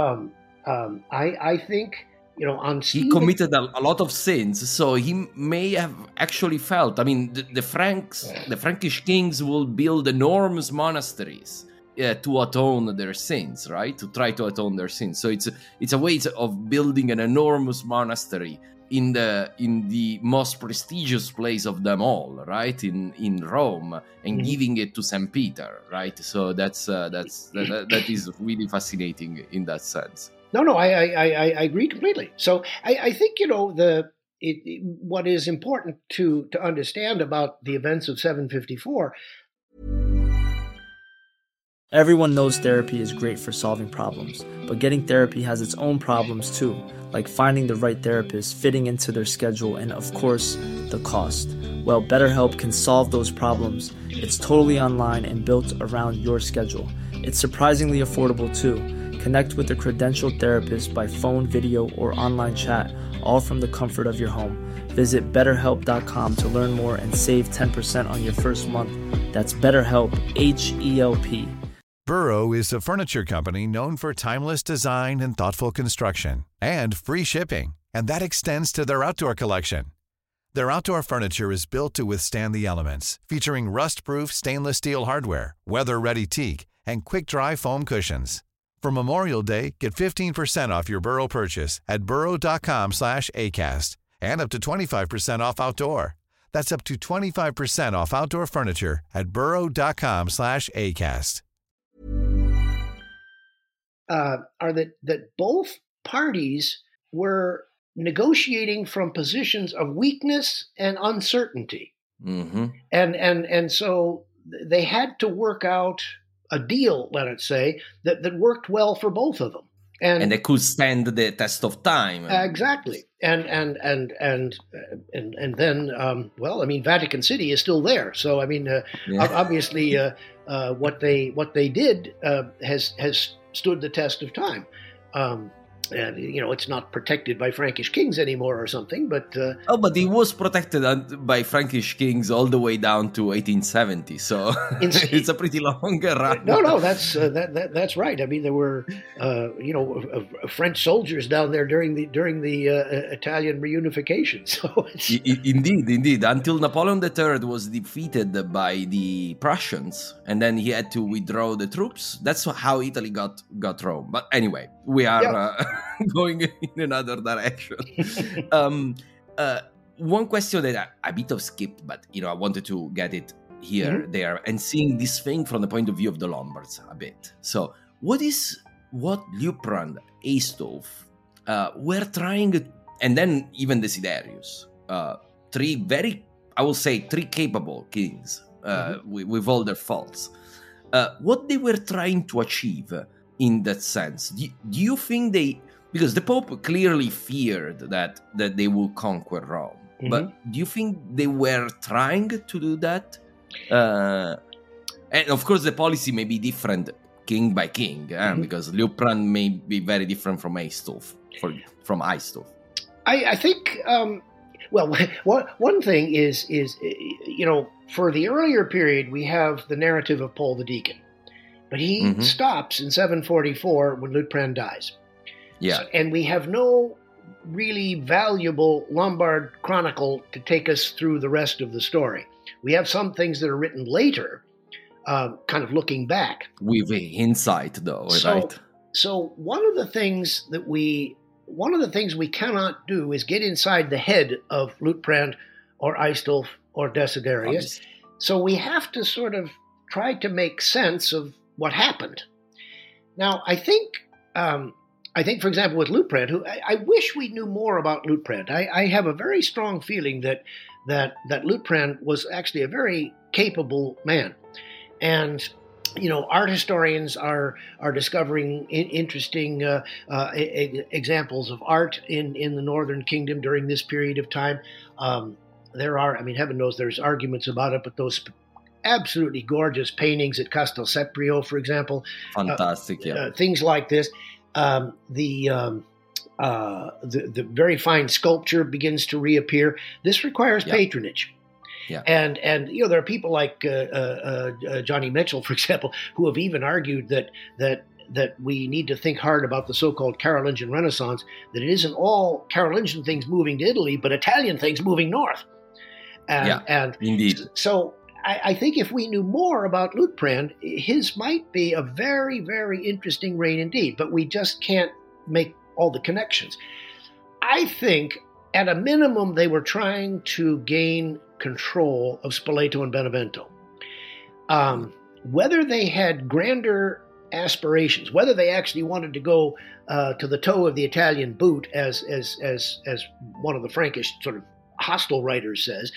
I think, on Stephen, he committed a lot of sins, so he may have actually felt. The Frankish kings will build enormous monasteries to atone their sins, right? To try to atone their sins. So it's a way of building an enormous monastery in the most prestigious place of them all, right? In Rome, and giving it to St. Peter, right? So that is really fascinating in that sense. No, I agree completely. So I think what is important to understand about the events of 754. Everyone knows therapy is great for solving problems, but getting therapy has its own problems too, like finding the right therapist, fitting into their schedule, and of course, the cost. Well, BetterHelp can solve those problems. It's totally online and built around your schedule. It's surprisingly affordable too. Connect with a credentialed therapist by phone, video, or online chat, all from the comfort of your home. Visit BetterHelp.com to learn more and save 10% on your first month. That's BetterHelp, H-E-L-P. Burrow is a furniture company known for timeless design and thoughtful construction, and free shipping, and that extends to their outdoor collection. Their outdoor furniture is built to withstand the elements, featuring rust-proof stainless steel hardware, weather-ready teak, and quick-dry foam cushions. For Memorial Day, get 15% off your Burrow purchase at burrow.com/ACAST, and up to 25% off outdoor. That's up to 25% off outdoor furniture at burrow.com/ACAST. are that both parties were negotiating from positions of weakness and uncertainty, and so they had to work out a deal, let us say, that worked well for both of them, and they could stand the test of time. Exactly, and then, well, I mean, Vatican City is still there, so I mean, obviously, what they did has stood the test of time. And, it's not protected by Frankish kings anymore or something, but... but it was protected by Frankish kings all the way down to 1870, so it's a pretty long run. No, that's right. I mean, there were, French soldiers down there during the Italian reunification, so Indeed. Until Napoleon III was defeated by the Prussians, and then he had to withdraw the troops. That's how Italy got Rome. But anyway, we are... going in another direction. One question that I bit of skipped, but I wanted to get it here, there, and seeing this thing from the point of view of the Lombards a bit. So, what Liutprand, Aistulf were trying, and then even Desiderius, three capable kings with all their faults. What they were trying to achieve in that sense? Do you think because the Pope clearly feared that they will conquer Rome, but do you think they were trying to do that? And of course, the policy may be different king by king, because Liutprand may be very different from Aistulf. I think, well, one thing is for the earlier period, we have the narrative of Paul the Deacon, but he stops in 744 when Liutprand dies. Yeah. And we have no really valuable Lombard chronicle to take us through the rest of the story. We have some things that are written later, kind of looking back. With insight, though, right? So one of the things we cannot do is get inside the head of Liutprand or Aistulf or Desiderius. Obviously. So we have to sort of try to make sense of what happened. Now, I think, for example, with Liutprand, who I wish we knew more about Liutprand. I have a very strong feeling that Liutprand was actually a very capable man, and art historians are discovering interesting examples of art in the Northern Kingdom during this period of time. There are, heaven knows there's arguments about it, but those absolutely gorgeous paintings at Castel Seprio, for example, fantastic, things like this. The very fine sculpture begins to reappear. This requires patronage. Yeah. And there are people like Johnny Mitchell, for example, who have even argued that we need to think hard about the so-called Carolingian Renaissance, that it isn't all Carolingian things moving to Italy, but Italian things moving north. And indeed. So I think if we knew more about Liutprand, his might be a very, very interesting reign indeed, but we just can't make all the connections. I think, at a minimum, they were trying to gain control of Spoleto and Benevento. Whether they had grander aspirations, whether they actually wanted to go to the toe of the Italian boot, as one of the Frankish sort of hostile writers says,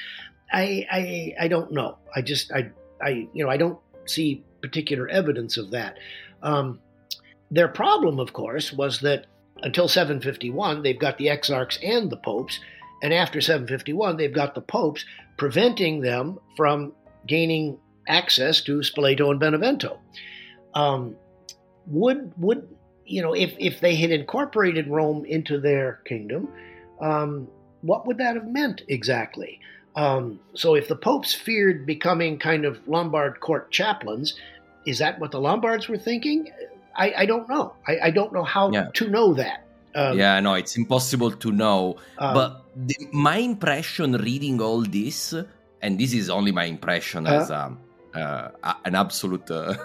I don't know. I don't see particular evidence of that. Their problem, of course, was that until 751, they've got the exarchs and the popes, and after 751, they've got the popes preventing them from gaining access to Spoleto and Benevento. If they had incorporated Rome into their kingdom, what would that have meant exactly? So if the popes feared becoming kind of Lombard court chaplains, is that what the Lombards were thinking? I don't know. I don't know how to know that. It's impossible to know. But my impression reading all this, and this is only my impression as an absolute...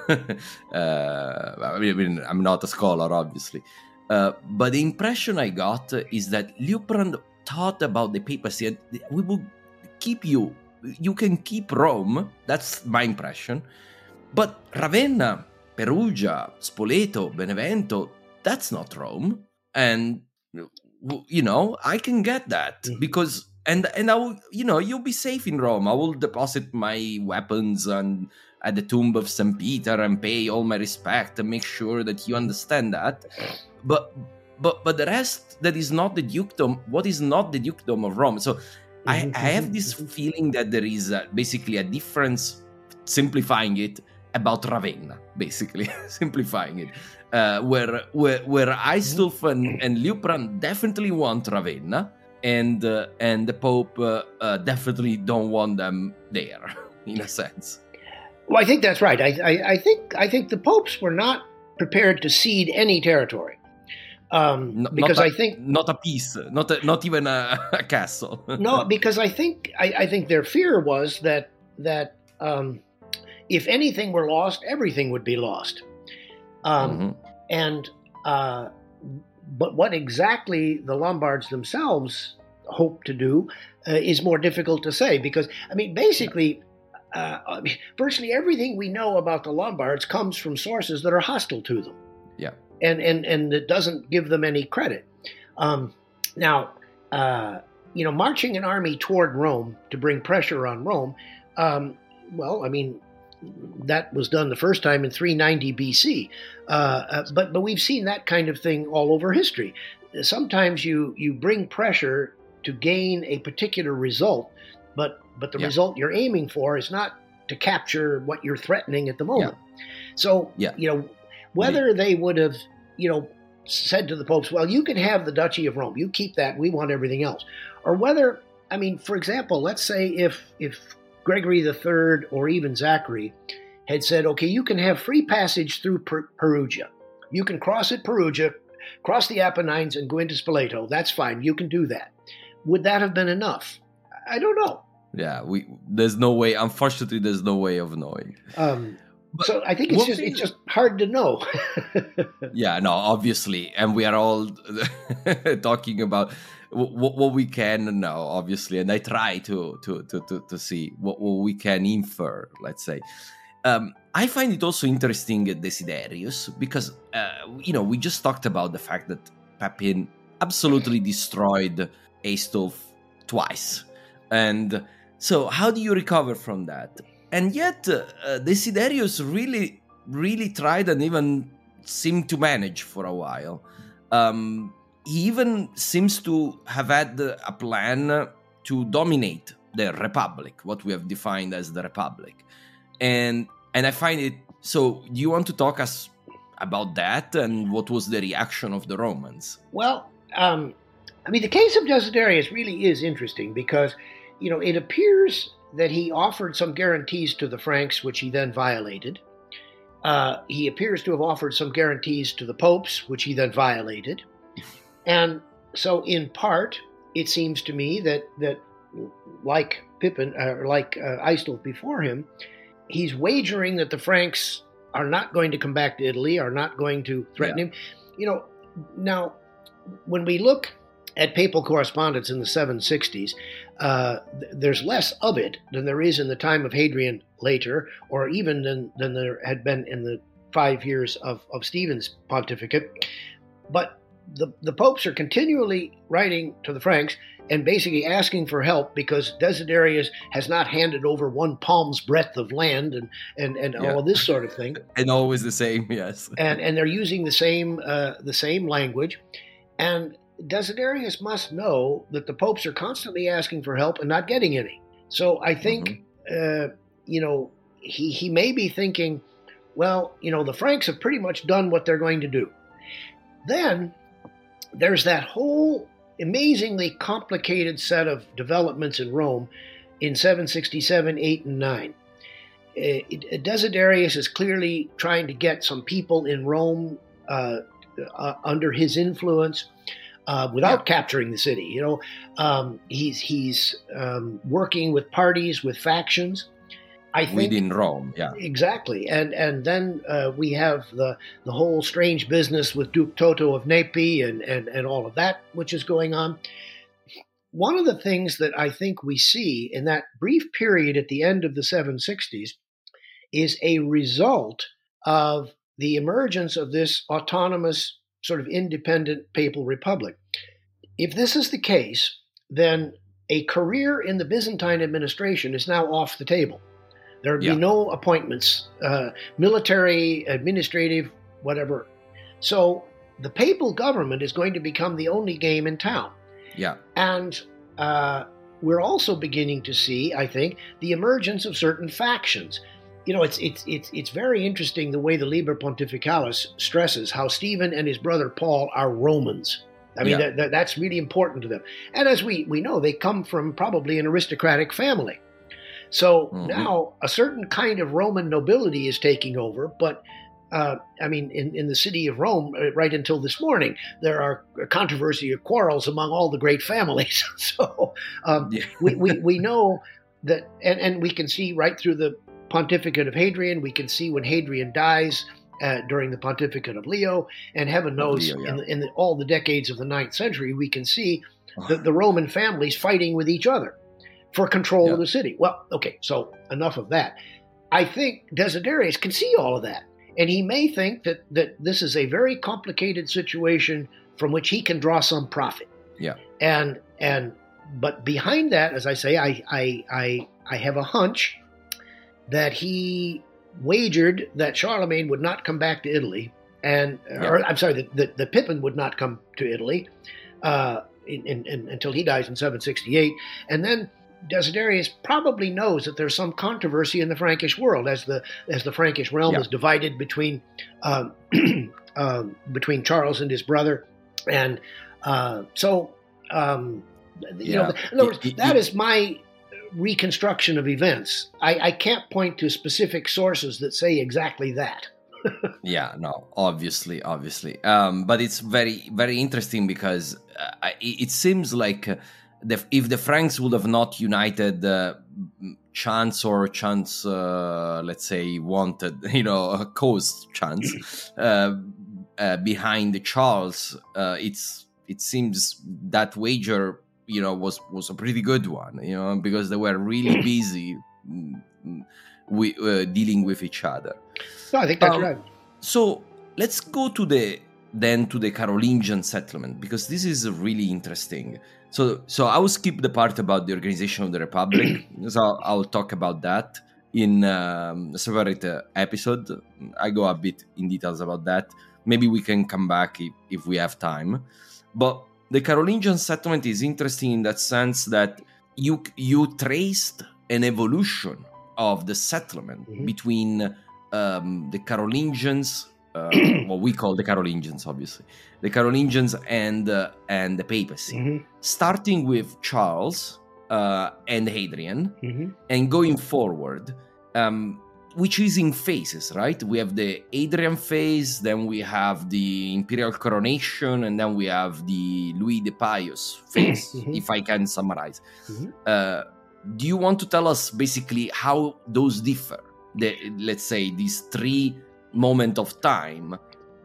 I'm not a scholar, obviously. But the impression I got is that Liutprand thought about the papacy, and we will keep you can keep Rome. That's my impression. But Ravenna, Perugia, Spoleto, Benevento, that's not Rome. And, I can get that because, and I will, you'll be safe in Rome. I will deposit my weapons at the tomb of St. Peter and pay all my respect and make sure that you understand that. But the rest, that is not the dukedom. What is not the dukedom of Rome? So I have this feeling that there is basically a difference, simplifying it, about Ravenna, basically, simplifying it, where Aistulf and Liutprand definitely want Ravenna, and the Pope definitely don't want them there, in a sense. Well, I think that's right. I think the popes were not prepared to cede any territory, because I think not a piece, not even a castle. No, because I think their fear was that if anything were lost, everything would be lost. And but what exactly the Lombards themselves hope to do is more difficult to say, because basically. Virtually everything we know about the Lombards comes from sources that are hostile to them. Yeah. And it doesn't give them any credit. Now, marching an army toward Rome to bring pressure on Rome, that was done the first time in 390 BC. But we've seen that kind of thing all over history. Sometimes you bring pressure to gain a particular result, but the result you're aiming for is not to capture what you're threatening at the moment. Yeah. So, whether they would have, said to the popes, well, you can have the Duchy of Rome, you keep that, we want everything else. Or whether, for example, let's say if Gregory III or even Zachary had said, okay, you can have free passage through Perugia. You can cross at Perugia, cross the Apennines and go into Spoleto. That's fine. You can do that. Would that have been enough? I don't know. Yeah, there's no way. Unfortunately, there's no way of knowing. So I think it's just hard to know. Yeah, no, obviously, and we are all talking about what we can know, obviously, and I try to see what we can infer. Let's say, I find it also interesting, Desiderius, because we just talked about the fact that Pepin absolutely destroyed Aistulf twice, and so how do you recover from that? And yet, Desiderius really, really tried and even seemed to manage for a while. He even seems to have had a plan to dominate the Republic, what we have defined as the Republic. And I find it... So, do you want to talk us about that and what was the reaction of the Romans? Well, the case of Desiderius really is interesting because, it appears that he offered some guarantees to the Franks, which he then violated. He appears to have offered some guarantees to the popes, which he then violated. And so, in part, it seems to me that like Pippin, or like Aistulf before him, he's wagering that the Franks are not going to come back to Italy, are not going to threaten him. Now, when we look at papal correspondence in the 760s, there's less of it than there is in the time of Hadrian later, or even than there had been in the 5 years of Stephen's pontificate. But the popes are continually writing to the Franks and basically asking for help because Desiderius has not handed over one palm's breadth of land and all of this sort of thing. And always the same, yes. and they're using the same language. And Desiderius must know that the popes are constantly asking for help and not getting any. So I think, he may be thinking, well, the Franks have pretty much done what they're going to do. Then there's that whole amazingly complicated set of developments in Rome in 767, 8, and 9. Desiderius is clearly trying to get some people in Rome under his influence. Without capturing the city, he's working with parties, with factions. I think within Rome, exactly. And then we have the whole strange business with Duke Toto of Nepi and all of that, which is going on. One of the things that I think we see in that brief period at the end of the 760s is a result of the emergence of this autonomous sort of independent papal republic. If this is the case, then a career in the Byzantine administration is now off the table. There would be no appointments, military, administrative, whatever. So the papal government is going to become the only game in town. Yeah. And we're also beginning to see, I think, the emergence of certain factions. You know, it's very interesting the way the Liber Pontificalis stresses how Stephen and his brother Paul are Romans. I mean, that's really important to them. And as we know, they come from probably an aristocratic family. So now a certain kind of Roman nobility is taking over. But, I mean, in the city of Rome, right until this morning, there are controversy or quarrels among all the great families. So we know that, and we can see right through the pontificate of Hadrian, we can see when Hadrian dies, during the pontificate of Leo, and heaven knows in all the decades of the 9th century, we can see the Roman families fighting with each other for control of the city. Well, okay, so enough of that. I think Desiderius can see all of that, and he may think that this is a very complicated situation from which he can draw some profit. Yeah. But behind that, as I say, I have a hunch that he wagered that Charlemagne would not come back to Italy, or I'm sorry, that Pippin would not come to Italy until he dies in 768, and then Desiderius probably knows that there's some controversy in the Frankish world as the Frankish realm is divided between Charles and his brother, and in other words, that is my reconstruction of events. I can't point to specific sources that say exactly that. Obviously. But it's very, very interesting because it seems like if the Franks would have not united, chance, let's say, wanted, caused chance behind Charles, it seems that wager was a pretty good one, because they were really busy dealing with each other. No, I think that's right. So let's go to the Carolingian settlement, because this is really interesting. So I will skip the part about the organization of the Republic. So I'll talk about that in a separate episode. I go a bit in details about that. Maybe we can come back if we have time. But the Carolingian settlement is interesting in that sense that you traced an evolution of the settlement between the Carolingians, what we call the Carolingians, obviously, the Carolingians and the papacy, starting with Charles and Hadrian, and going forward, which is in phases, right? We have the Hadrian phase, then we have the imperial coronation, and then we have the Louis the Pious phase, if I can summarize. Do you want to tell us basically how those differ? Let's say these three moments of time,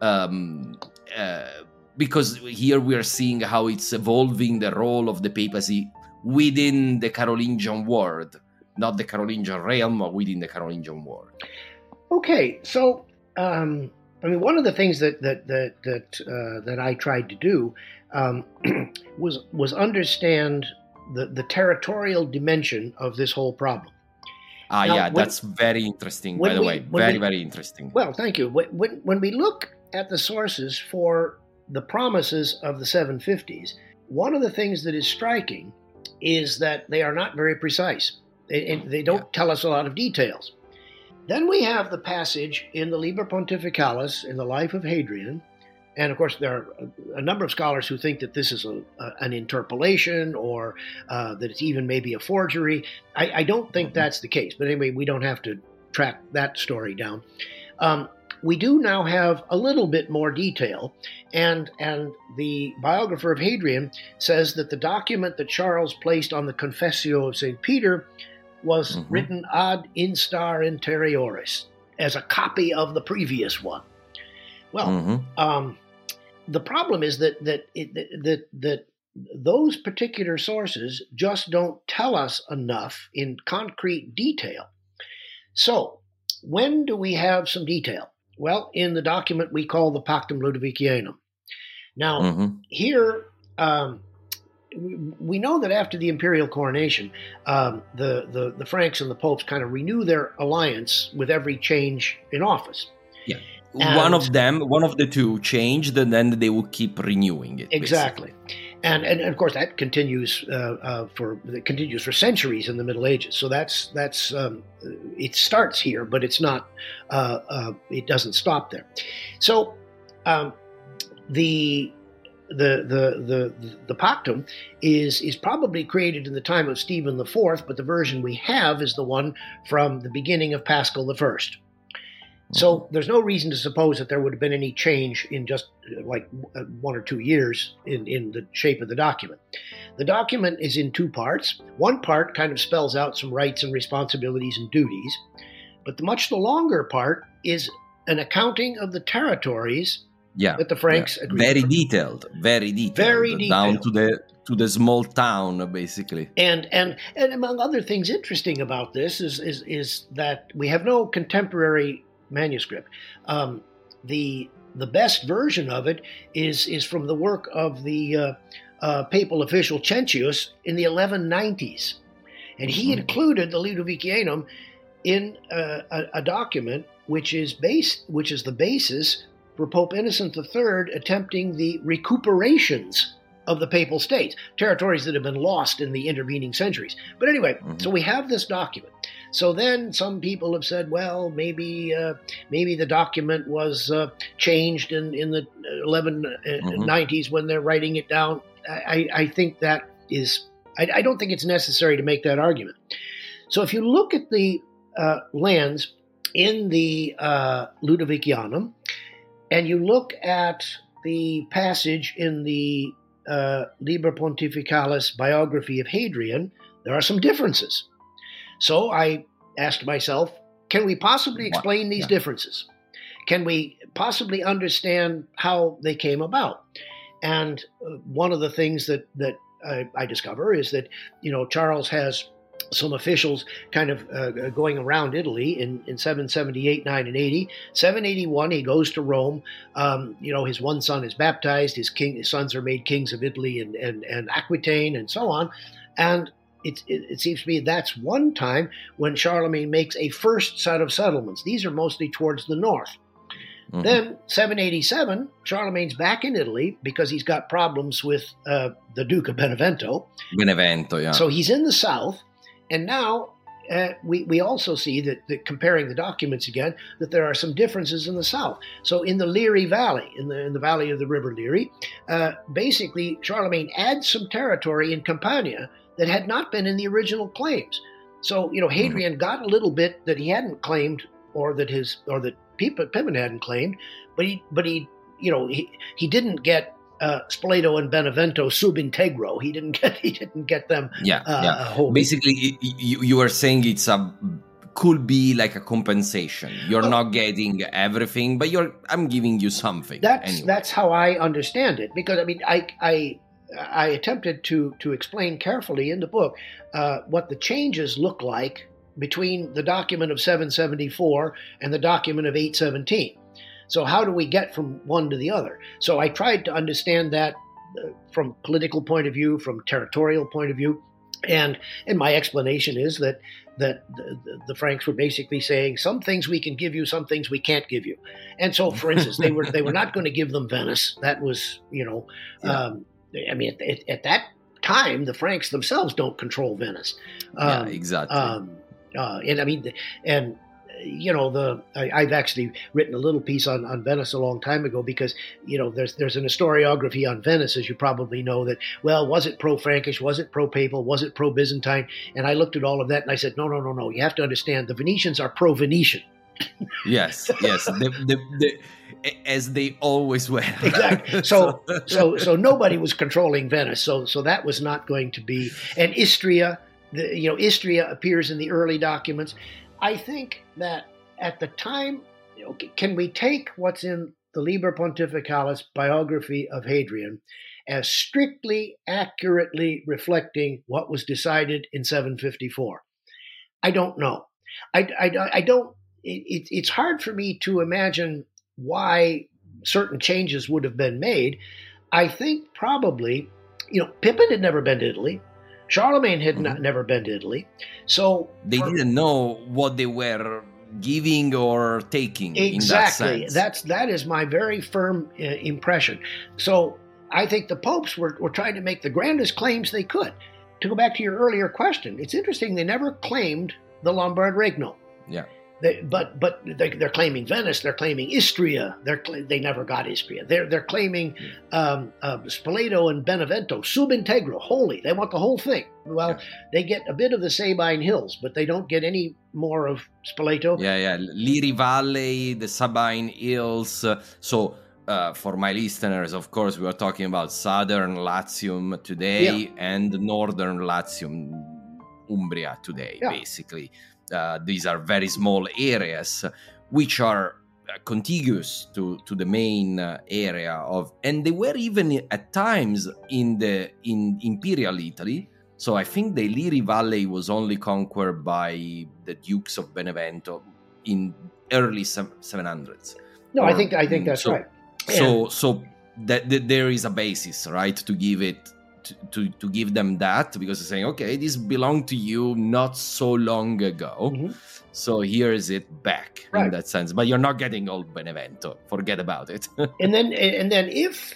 because here we are seeing how it's evolving the role of the papacy within the Carolingian world. Not the Carolingian realm, but within the Carolingian world. Okay, so one of the things that I tried to do was understand the territorial dimension of this whole problem. That's very interesting. By the way, very interesting. Well, thank you. When we look at the sources for the promises of the 750s, one of the things that is striking is that they are not very precise. They don't tell us a lot of details. Then we have the passage in the Liber Pontificalis in the life of Hadrian. And of course, there are a number of scholars who think that this is an interpolation or that it's even maybe a forgery. I don't think that's the case. But anyway, we don't have to track that story down. We do now have a little bit more detail. And the biographer of Hadrian says that the document that Charles placed on the Confessio of St. Peter was written ad instar interioris, as a copy of the previous one. Well, the problem is that those particular sources just don't tell us enough in concrete detail. So, when do we have some detail? Well, in the document we call the Pactum Ludovicianum. Now, here, we know that after the imperial coronation, the Franks and the popes kind of renew their alliance with every change in office. Yeah. And one of the two changed, and then they will keep renewing it. Exactly. And of course that continues for centuries in the Middle Ages. So that's it starts here, but it's not. It doesn't stop there. So the Pactum is probably created in the time of Stephen IV, but the version we have is the one from the beginning of Paschal I. So there's no reason to suppose that there would have been any change in just like 1 or 2 years in the shape of the document. The document is in 2 parts. One part kind of spells out some rights and responsibilities and duties, but the much longer part is an accounting of the territories that the Franks agreed very to. Detailed, down to the small town, basically. And among other things interesting about this is that we have no contemporary manuscript. The best version of it is from the work of the papal official Cencius in the 1190s, and he included the Ludovicianum in a document which is the basis for Pope Innocent III attempting the recuperations of the Papal States, territories that have been lost in the intervening centuries. But anyway, so we have this document. So then some people have said, well, maybe the document was changed in the 1190s when they're writing it down. I think that is, I don't think it's necessary to make that argument. So if you look at the lands in the Ludovicianum, and you look at the passage in the Liber Pontificalis biography of Hadrian, there are some differences. So I asked myself, can we possibly explain these differences? Can we possibly understand how they came about? And one of the things that I discover is that, Charles has some officials kind of going around Italy in 778, 9, and 80. 781, he goes to Rome. His one son is baptized. His sons are made kings of Italy and Aquitaine and so on. And it seems to me that's one time when Charlemagne makes a first set of settlements. These are mostly towards the north. Then 787, Charlemagne's back in Italy because he's got problems with the Duke of Benevento. So he's in the south. And now we also see that comparing the documents again, that there are some differences in the south. So in the Liri Valley, in the valley of the River Liri, basically Charlemagne adds some territory in Campania that had not been in the original claims. So Hadrian got a little bit that he hadn't claimed, or that Pippin hadn't claimed, but he didn't get Spoleto and Benevento sub integro. He didn't get them. Whole. Basically, you were saying could be like a compensation. You're not getting everything, but I'm giving you something. That's how I understand it, because I attempted to explain carefully in the book what the changes look like between the document of 774 and the document of 817. So how do we get from one to the other? So I tried to understand that from political point of view, from territorial point of view, and my explanation is that the Franks were basically saying some things we can give you, some things we can't give you. And so, for instance, they were not going to give them Venice. That was, at that time, the Franks themselves don't control Venice. Exactly. I've actually written a little piece on Venice a long time ago because, there's an historiography on Venice, as you probably know, that, well, was it pro-Frankish? Was it pro-Papal? Was it pro-Byzantine? And I looked at all of that and I said, no. You have to understand the Venetians are pro-Venetian. Yes. As they always were. Exactly. So nobody was controlling Venice. So that was not going to be. And Istria, Istria appears in the early documents. I think that at the time, can we take what's in the Liber Pontificalis biography of Hadrian as strictly, accurately reflecting what was decided in 754? I don't know. I don't. It's hard for me to imagine why certain changes would have been made. I think probably, Pippin had never been to Italy. Charlemagne had never been to Italy. So they didn't know what they were giving or taking. Exactly. In that sense. That is my very firm impression. So I think the popes were trying to make the grandest claims they could. To go back to your earlier question, it's interesting they never claimed the Lombard Regno. Yeah. But they're claiming Venice. They're claiming Istria. They never got Istria. They're claiming Spoleto and Benevento, sub integro, holy. They want the whole thing. Well, they get a bit of the Sabine Hills, but they don't get any more of Spoleto. Yeah. Liri Valley, the Sabine Hills. For my listeners, of course, we are talking about southern Latium today and northern Latium, Umbria today, basically. These are very small areas which are contiguous to the main area of, and they were even at times in Imperial Italy. So I think the Liri Valley was only conquered by the Dukes of Benevento in early 700s. No, I think that's right. So that there is a basis, right, to give it. To give them that, because they're saying, okay, this belonged to you not so long ago, so here is it back in that sense. But you're not getting old Benevento. Forget about it. and then if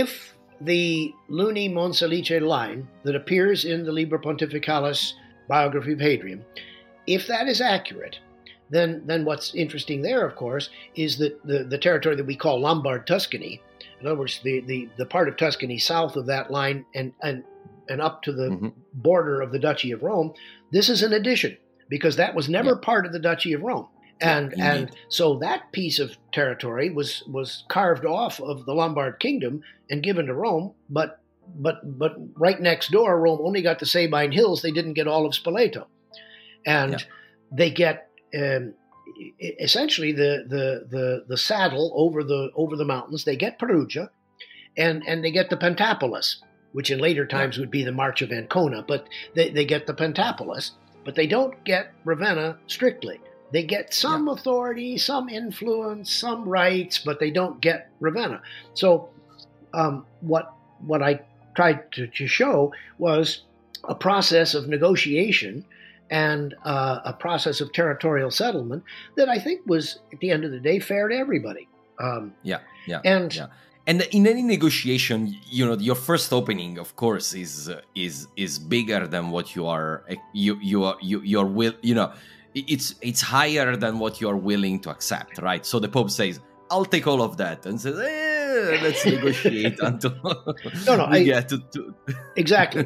the Luni Monselice line that appears in the Liber Pontificalis biography of Hadrian, if that is accurate, then what's interesting there, of course, is that the territory that we call Lombard Tuscany. In other words, the part of Tuscany south of that line and up to the border of the Duchy of Rome, this is an addition, because that was never part of the Duchy of Rome. And so that piece of territory was carved off of the Lombard kingdom and given to Rome, but right next door, Rome only got the Sabine Hills. They didn't get all of Spoleto. And they get essentially the saddle over the mountains. They get Perugia, and they get the Pentapolis, which in later times would be the March of Ancona. But they get the Pentapolis, but they don't get Ravenna strictly. They get some authority, some influence, some rights, but they don't get Ravenna. So what I tried to show was a process of negotiation and a process of territorial settlement that I think was, at the end of the day, fair to everybody. And in any negotiation, your first opening, of course, is bigger than what you are. You're will. It's higher than what you are willing to accept, right? So the Pope says, "I'll take all of that," and says, "Let's negotiate until we get to." Exactly,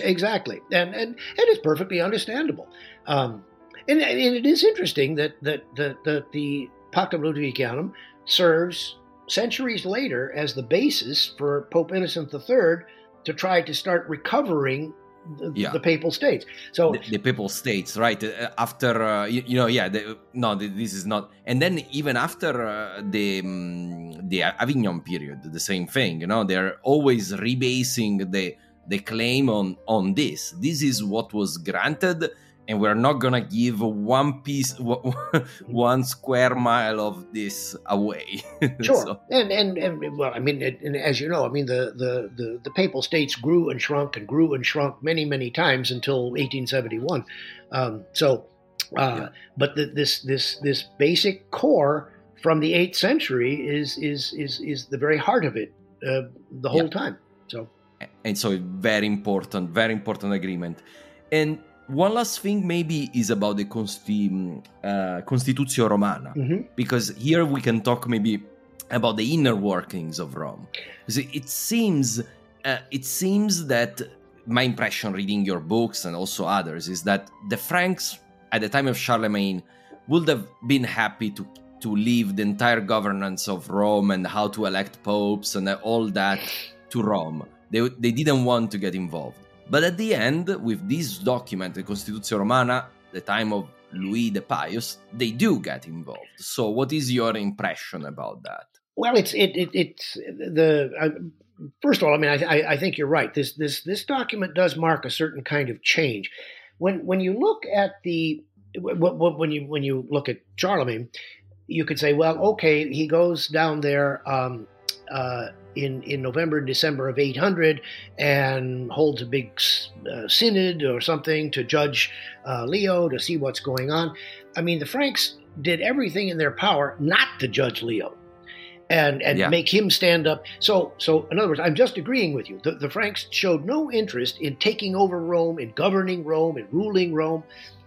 and it's perfectly understandable. And it is interesting that the Pactum Ludovicianum serves centuries later as the basis for Pope Innocent III to try to start recovering the Papal States. So the Papal States, right? After this is not. And then even after the Avignon period, the same thing. They're always rebasing the claim on this. This is what was granted, and we're not gonna give one square mile of this away. Sure, so. and well, I mean, as you know, I mean, the Papal States grew and shrunk many, many times until 1871. But this basic core from the 8th century is the very heart of it the whole time. And so very important agreement. And one last thing maybe is about the Constitutio Romana, because here we can talk maybe about the inner workings of Rome. It seems that my impression reading your books and also others is that the Franks at the time of Charlemagne would have been happy to leave the entire governance of Rome and how to elect popes and all that to Rome. They didn't want to get involved. But at the end, with this document, the Constitutio Romana, the time of Louis the Pious, they do get involved. So what is your impression about that? Well, first of all, I mean, I think you're right. This document does mark a certain kind of change. When you look at when you look at Charlemagne, you could say, well, okay, he goes down there in November and December of 800 and holds a big synod or something to judge Leo, to see what's going on. I mean, the Franks did everything in their power not to judge Leo and make him stand up. So in other words, I'm just agreeing with you. The Franks showed no interest in taking over Rome, in governing Rome, in ruling Rome.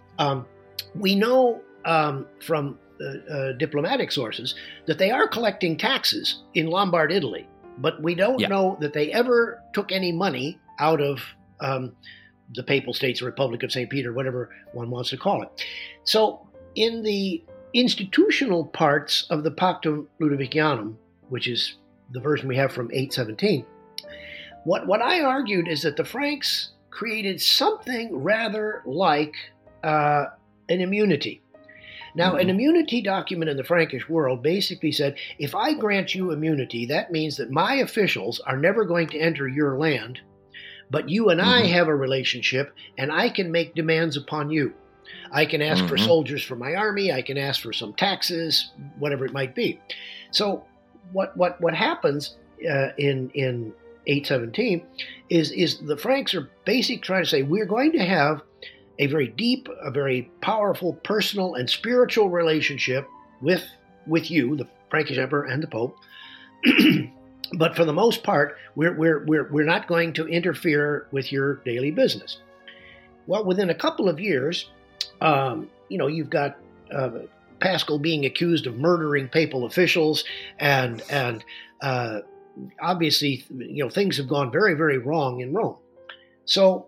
We know from diplomatic sources that they are collecting taxes in Lombard Italy, but we don't know that they ever took any money out of the Papal States, the Republic of St. Peter, whatever one wants to call it. So in the institutional parts of the Pactum Ludovicianum, which is the version we have from 817, what I argued is that the Franks created something rather like an immunity. Now, an immunity document in the Frankish world basically said, if I grant you immunity, that means that my officials are never going to enter your land, but you and I have a relationship, and I can make demands upon you. I can ask for soldiers for my army, I can ask for some taxes, whatever it might be. So what happens in 817 is the Franks are basically trying to say, we're going to have a very deep, a very powerful personal and spiritual relationship with you, the Frankish Emperor and the Pope. But for the most part, we're not going to interfere with your daily business. Well, within a couple of years, you've got Paschal being accused of murdering papal officials, and obviously, things have gone very, very wrong in Rome. So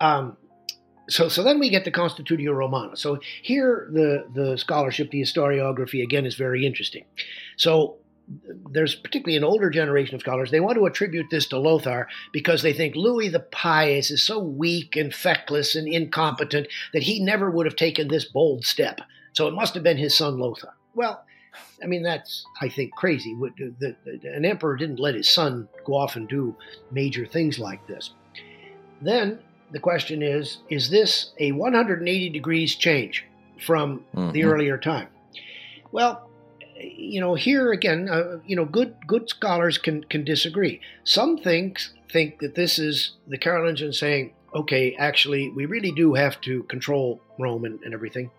then we get the Constitutio Romana. So here the scholarship, the historiography, again, is very interesting. So there's particularly an older generation of scholars, they want to attribute this to Lothar because they think Louis the Pious is so weak and feckless and incompetent that he never would have taken this bold step. So it must have been his son Lothar. Well, I mean, that's, I think, crazy. An emperor didn't let his son go off and do major things like this. Then the question is this a 180 degrees change from the earlier time? Well, here again, good scholars can disagree. Some think that this is the Carolingians saying, okay, actually, we really do have to control Rome and everything.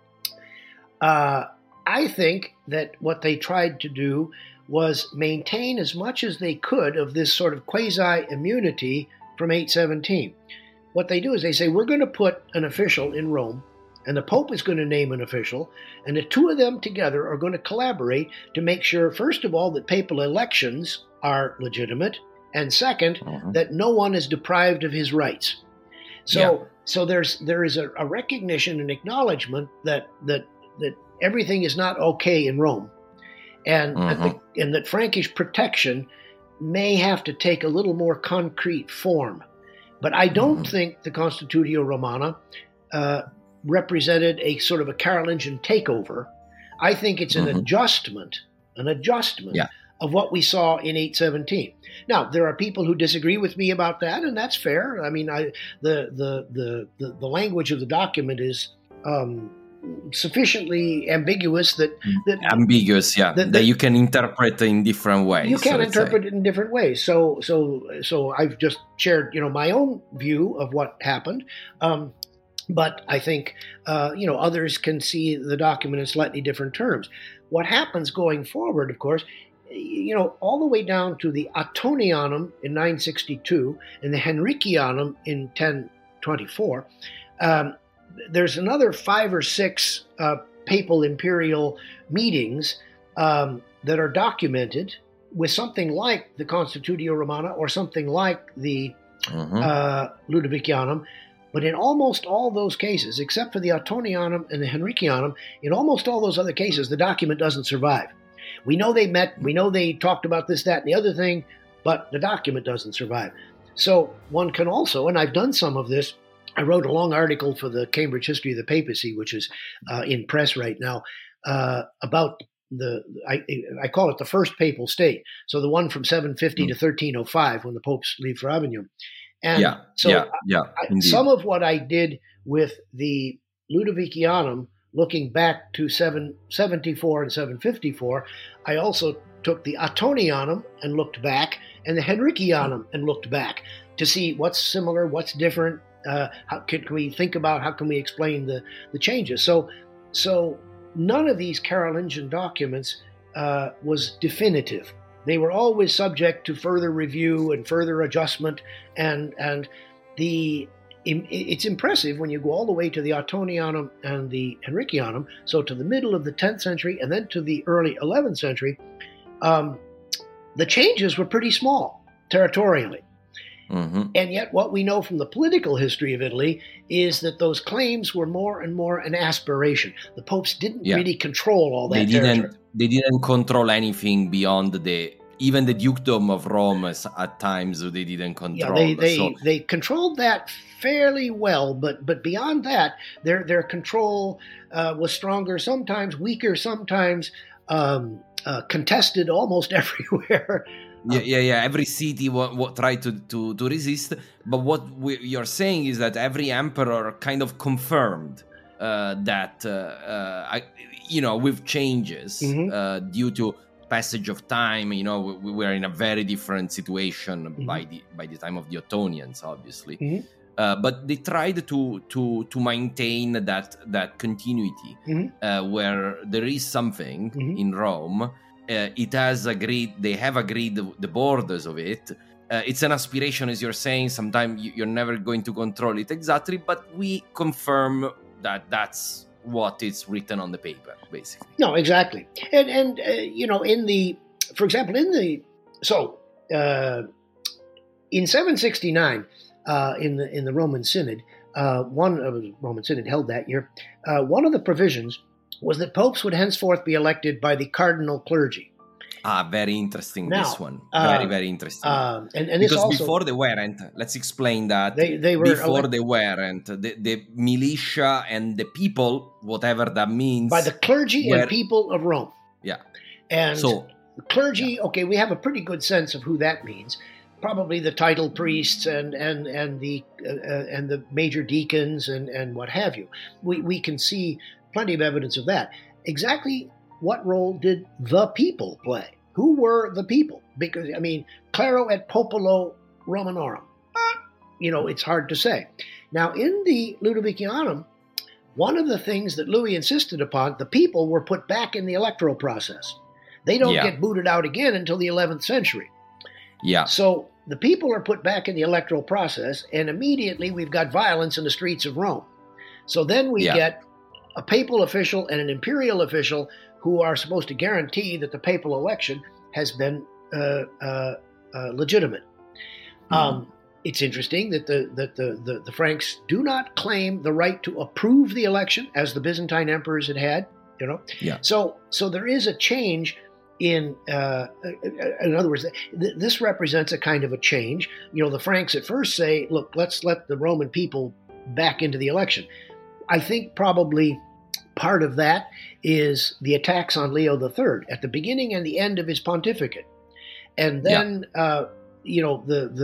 I think that what they tried to do was maintain as much as they could of this sort of quasi-immunity from 817. What they do is they say, we're going to put an official in Rome, and the Pope is going to name an official, and the two of them together are going to collaborate to make sure, first of all, that papal elections are legitimate, and second, that no one is deprived of his rights. So there is a recognition and acknowledgement that everything is not okay in Rome, and that Frankish protection may have to take a little more concrete form. But I don't think the Constitutio Romana represented a sort of a Carolingian takeover. I think it's an adjustment of what we saw in 817. Now, there are people who disagree with me about that, and that's fair. I mean, the language of the document is sufficiently ambiguous that you can interpret in different ways. You can interpret it in different ways. So I've just shared, my own view of what happened. But I think, others can see the document in slightly different terms. What happens going forward, of course, all the way down to the Attonianum in 962 and the Henricianum in 1024, there's another 5 or 6 papal imperial meetings that are documented with something like the Constitutio Romana or something like the Ludovicianum. But in almost all those cases, except for the Attonianum and the Henricianum, in almost all those other cases, the document doesn't survive. We know they met, we know they talked about this, that, and the other thing, but the document doesn't survive. So one can also, and I've done some of this, I wrote a long article for the Cambridge History of the Papacy, which is in press right now, about I call it the first papal state. So the one from 750 to 1305 when the popes leave for Avignon. And some of what I did with the Ludovicianum, looking back to 774 and 754, I also took the Attonianum and looked back, and the Henricianum and looked back to see what's similar, what's different. How can we think about, how can we explain the changes? So none of these Carolingian documents was definitive. They were always subject to further review and further adjustment, and it's impressive when you go all the way to the Attonianum and the Henricianum, so to the middle of the 10th century and then to the early 11th century, the changes were pretty small territorially. Mm-hmm. And yet what we know from the political history of Italy is that those claims were more and more an aspiration. The popes didn't really control all that territory. They didn't control anything beyond even the dukedom of Rome. At times they didn't control. Yeah, they controlled that fairly well, but beyond that, their control was stronger, sometimes weaker, sometimes contested almost everywhere. Yeah. Every city tried to resist, but what you're saying is that every emperor kind of confirmed that with changes due to passage of time. We were in a very different situation by the time of the Ottonians, obviously. Mm-hmm. But they tried to maintain that continuity where there is something in Rome. They have agreed the borders of it. It's an aspiration, as you're saying. Sometimes you're never going to control it exactly, but we confirm that that's what is written on the paper, basically. No, exactly. And for example, in 769, in the Roman Synod, Roman Synod held that year, one of the provisions was that popes would henceforth be elected by the cardinal clergy. Very interesting, this one. Very, very interesting. And because also, before they weren't, let's explain that. They were before they weren't, the militia and the people, whatever that means. By the clergy and people of Rome. Yeah. And so the clergy, okay, we have a pretty good sense of who that means. Probably the titled priests and the major deacons and what have you. We can see plenty of evidence of that. Exactly what role did the people play? Who were the people? Because, Claro et Popolo Romanorum. It's hard to say. Now, in the Ludovicianum, one of the things that Louis insisted upon, the people were put back in the electoral process. They don't get booted out again until the 11th century. Yeah. So the people are put back in the electoral process, and immediately we've got violence in the streets of Rome. So then we get a papal official and an imperial official who are supposed to guarantee that the papal election has been legitimate. It's interesting that the Franks do not claim the right to approve the election as the Byzantine emperors had. Yeah. So there is a change in other words, this represents a kind of a change. The Franks at first say, look, let's let the Roman people back into the election. I think probably part of that is the attacks on Leo III at the beginning and the end of his pontificate. And then, the Leo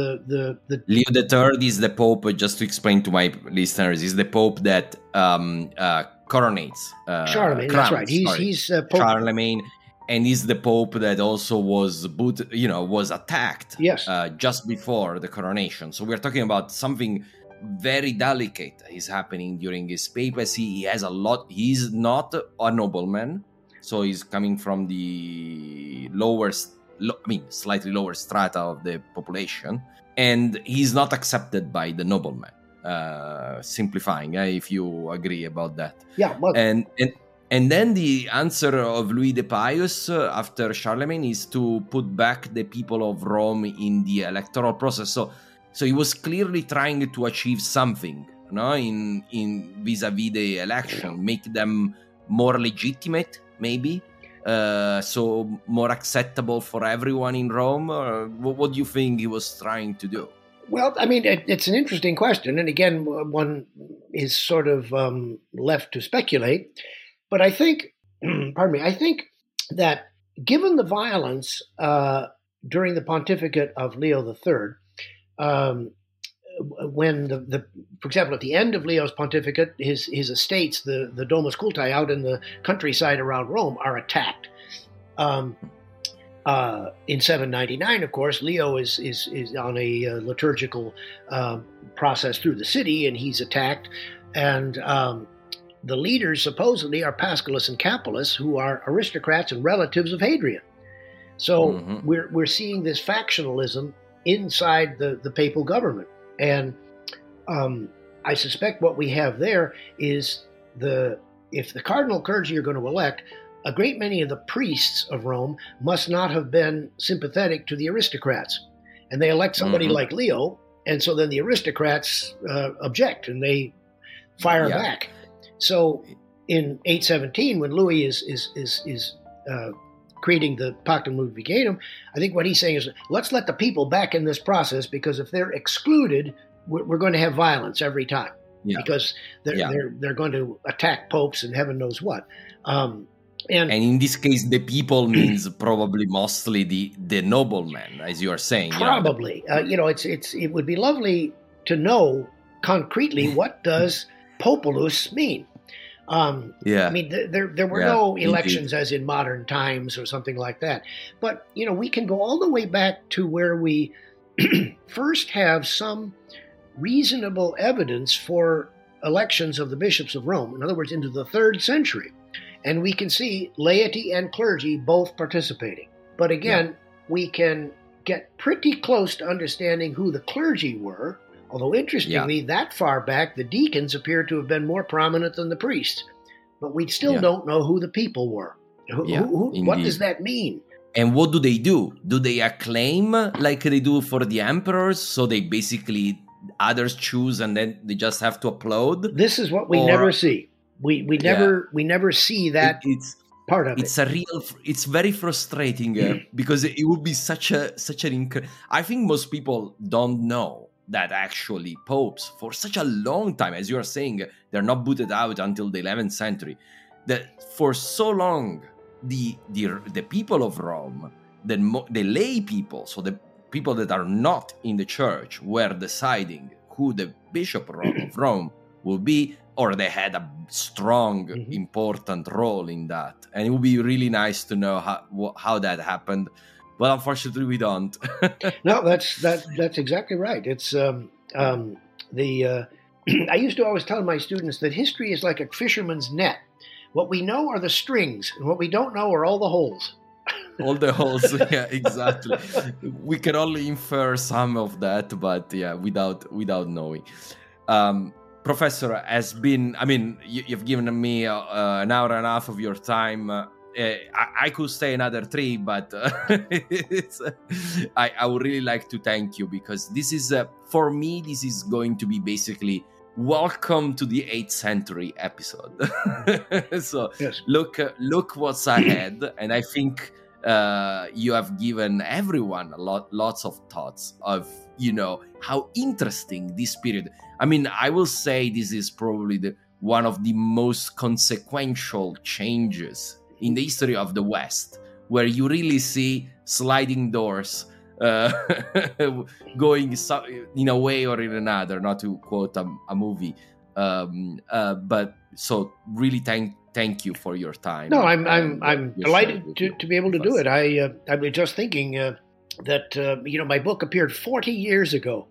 III is the Pope, just to explain to my listeners, is the Pope that coronates. Charlemagne, that's right. He's Pope. Charlemagne. And he's the Pope that also was attacked just before the coronation. So we're talking about something very delicate is happening during his papacy. He has a lot. He's not a nobleman, so he's coming from the slightly lower strata of the population, and he's not accepted by the nobleman. Simplifying, if you agree about that. Yeah. Well, and then the answer of Louis the Pious after Charlemagne is to put back the people of Rome in the electoral process. So he was clearly trying to achieve something, in vis-a-vis the election, make them more legitimate, maybe, so more acceptable for everyone in Rome. What do you think he was trying to do? Well, it's an interesting question, and again, one is sort of left to speculate. But I think, I think that given the violence during the pontificate of Leo III, when for example, at the end of Leo's pontificate, his estates, the Domus Culti out in the countryside around Rome, are attacked. In 799, of course, Leo is on a liturgical process through the city, and he's attacked. And the leaders supposedly are Paschalis and Capulus, who are aristocrats and relatives of Hadrian. So we're seeing this factionalism inside the papal government. And I suspect what we have there is if the cardinal clergy are going to elect, a great many of the priests of Rome must not have been sympathetic to the aristocrats. And they elect somebody like Leo, and so then the aristocrats object and they fire back. So in 817, when Louis is creating the Pactum Ludviganum, I think what he's saying is, let's let the people back in this process, because if they're excluded, we're going to have violence every time. Because they're going to attack popes and heaven knows what. And in this case, the people means probably mostly the noblemen, as you are saying. Probably, it would be lovely to know concretely what does populus mean. I mean, there were no elections as in modern times or something like that. But we can go all the way back to where we first have some reasonable evidence for elections of the bishops of Rome. In other words, into the 3rd century. And we can see laity and clergy both participating. But again, we can get pretty close to understanding who the clergy were. Although interestingly, that far back, the deacons appear to have been more prominent than the priests. But we still don't know who the people were. What does that mean? And what do? Do they acclaim like they do for the emperors? So they basically, others choose and then they just have to applaud? This is what we never see. We never see that part of it. It's very frustrating because it would be such an I think most people don't know that actually popes for such a long time, as you are saying, they're not booted out until the 11th century. That for so long the people of Rome, the lay people, so the people that are not in the church, were deciding who the bishop of Rome will be, or they had a strong, important role in that. And it would be really nice to know how that happened. But unfortunately, we don't. No, that's exactly right. It's I used to always tell my students that history is like a fisherman's net. What we know are the strings, and what we don't know are all the holes. All the holes, yeah, exactly. We can only infer some of that, but without knowing. Professor, you've given me an hour and a half of your time. I could stay another 3, but I would really like to thank you, because this is, for me, this is going to be basically welcome to the 8th century episode. So yes. Look what's ahead, and I think you have given everyone lots of thoughts of how interesting this period. I mean, I will say this is probably one of the most consequential changes in the history of the West, where you really see sliding doors going in a way or in another, not to quote a movie. But so really thank you for your time. No, I'm delighted to be able to do it. I was just thinking that my book appeared 40 years ago.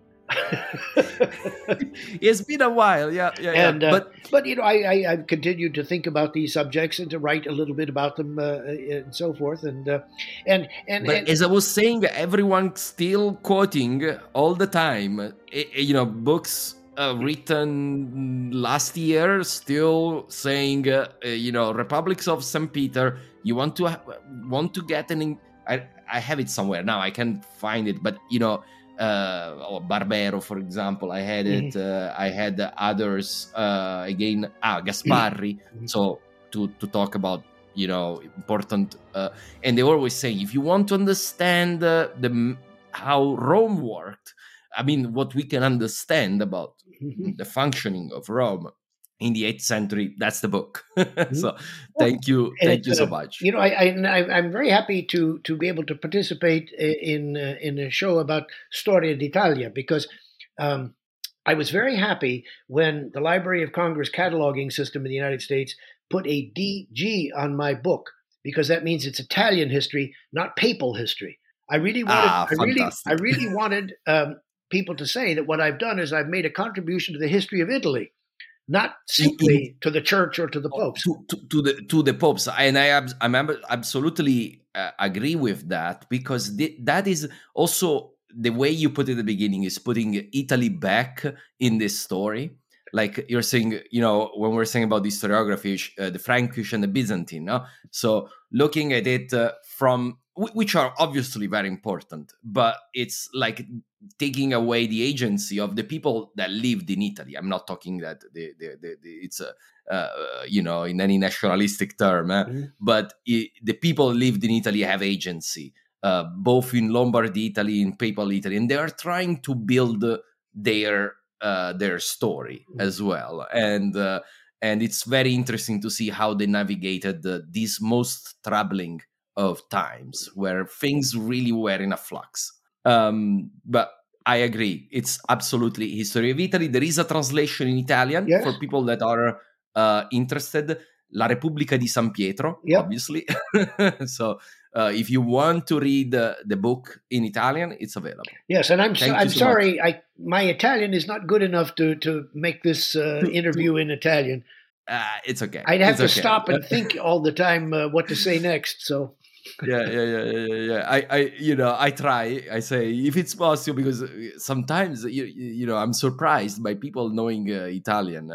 It's been a while, and but I've continued to think about these subjects and to write a little bit about them and so forth. But as I was saying, everyone's still quoting all the time. Books written last year still saying, Republics of St. Peter. You want to get I have it somewhere now. I can't find it, but Barbero, for example, I had it. I had others again. Gasparri. So to talk about important, and they always say, if you want to understand how Rome worked, I mean, what we can understand about the functioning of Rome in the 8th century, that's the book. So thank you so much. I'm very happy to be able to participate in a show about Storia d'Italia, because I was very happy when the Library of Congress cataloging system in the United States put a DG on my book, because that means it's Italian history, not papal history. I really wanted people to say that what I've done is I've made a contribution to the history of Italy, not simply to the church or to the popes. To the popes, and I'm absolutely agree with that, because that is also the way you put it at the beginning, is putting Italy back in this story. Like you're saying, when we're saying about the historiography, the Frankish and the Byzantine, no? So looking at it from, which are obviously very important, but it's like taking away the agency of the people that lived in Italy. I'm not talking that it's in any nationalistic term, but the people lived in Italy have agency, both in Lombardy Italy, in Papal Italy, and they are trying to build their story as well, and it's very interesting to see how they navigated these most troubling of times where things really were in a flux. But I agree, it's absolutely History of Italy. There is a translation in Italian for people that are interested. La Repubblica di San Pietro, obviously. So if you want to read the book in Italian, it's available. Yes, and I'm sorry, my Italian is not good enough to make this interview in Italian. It's okay. I'd have to stop and think all the time what to say next. So. Yeah. I try. I say if it's possible, because sometimes I'm surprised by people knowing Italian.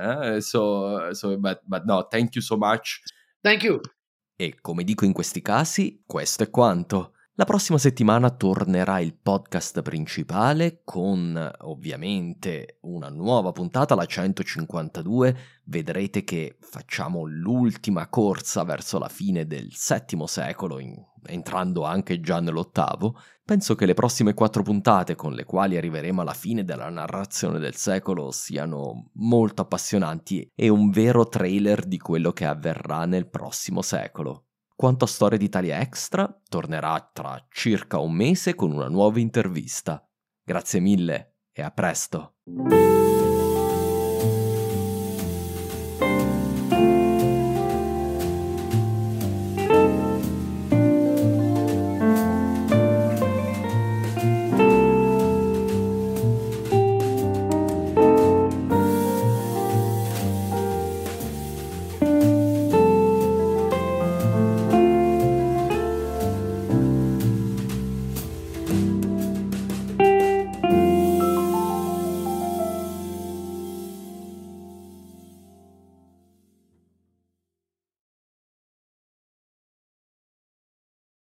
But no, thank you so much. Thank you. E come dico in questi casi, questo è quanto. La prossima settimana tornerà il podcast principale con ovviamente una nuova puntata, la 152. Vedrete che facciamo l'ultima corsa verso la fine del VII secolo, entrando anche già nell'VIII. Penso che le prossime 4 puntate, con le quali arriveremo alla fine della narrazione del secolo, siano molto appassionanti e un vero trailer di quello che avverrà nel prossimo secolo. Quanto a Storia d'Italia Extra, tornerà tra circa un mese con una nuova intervista. Grazie mille e a presto!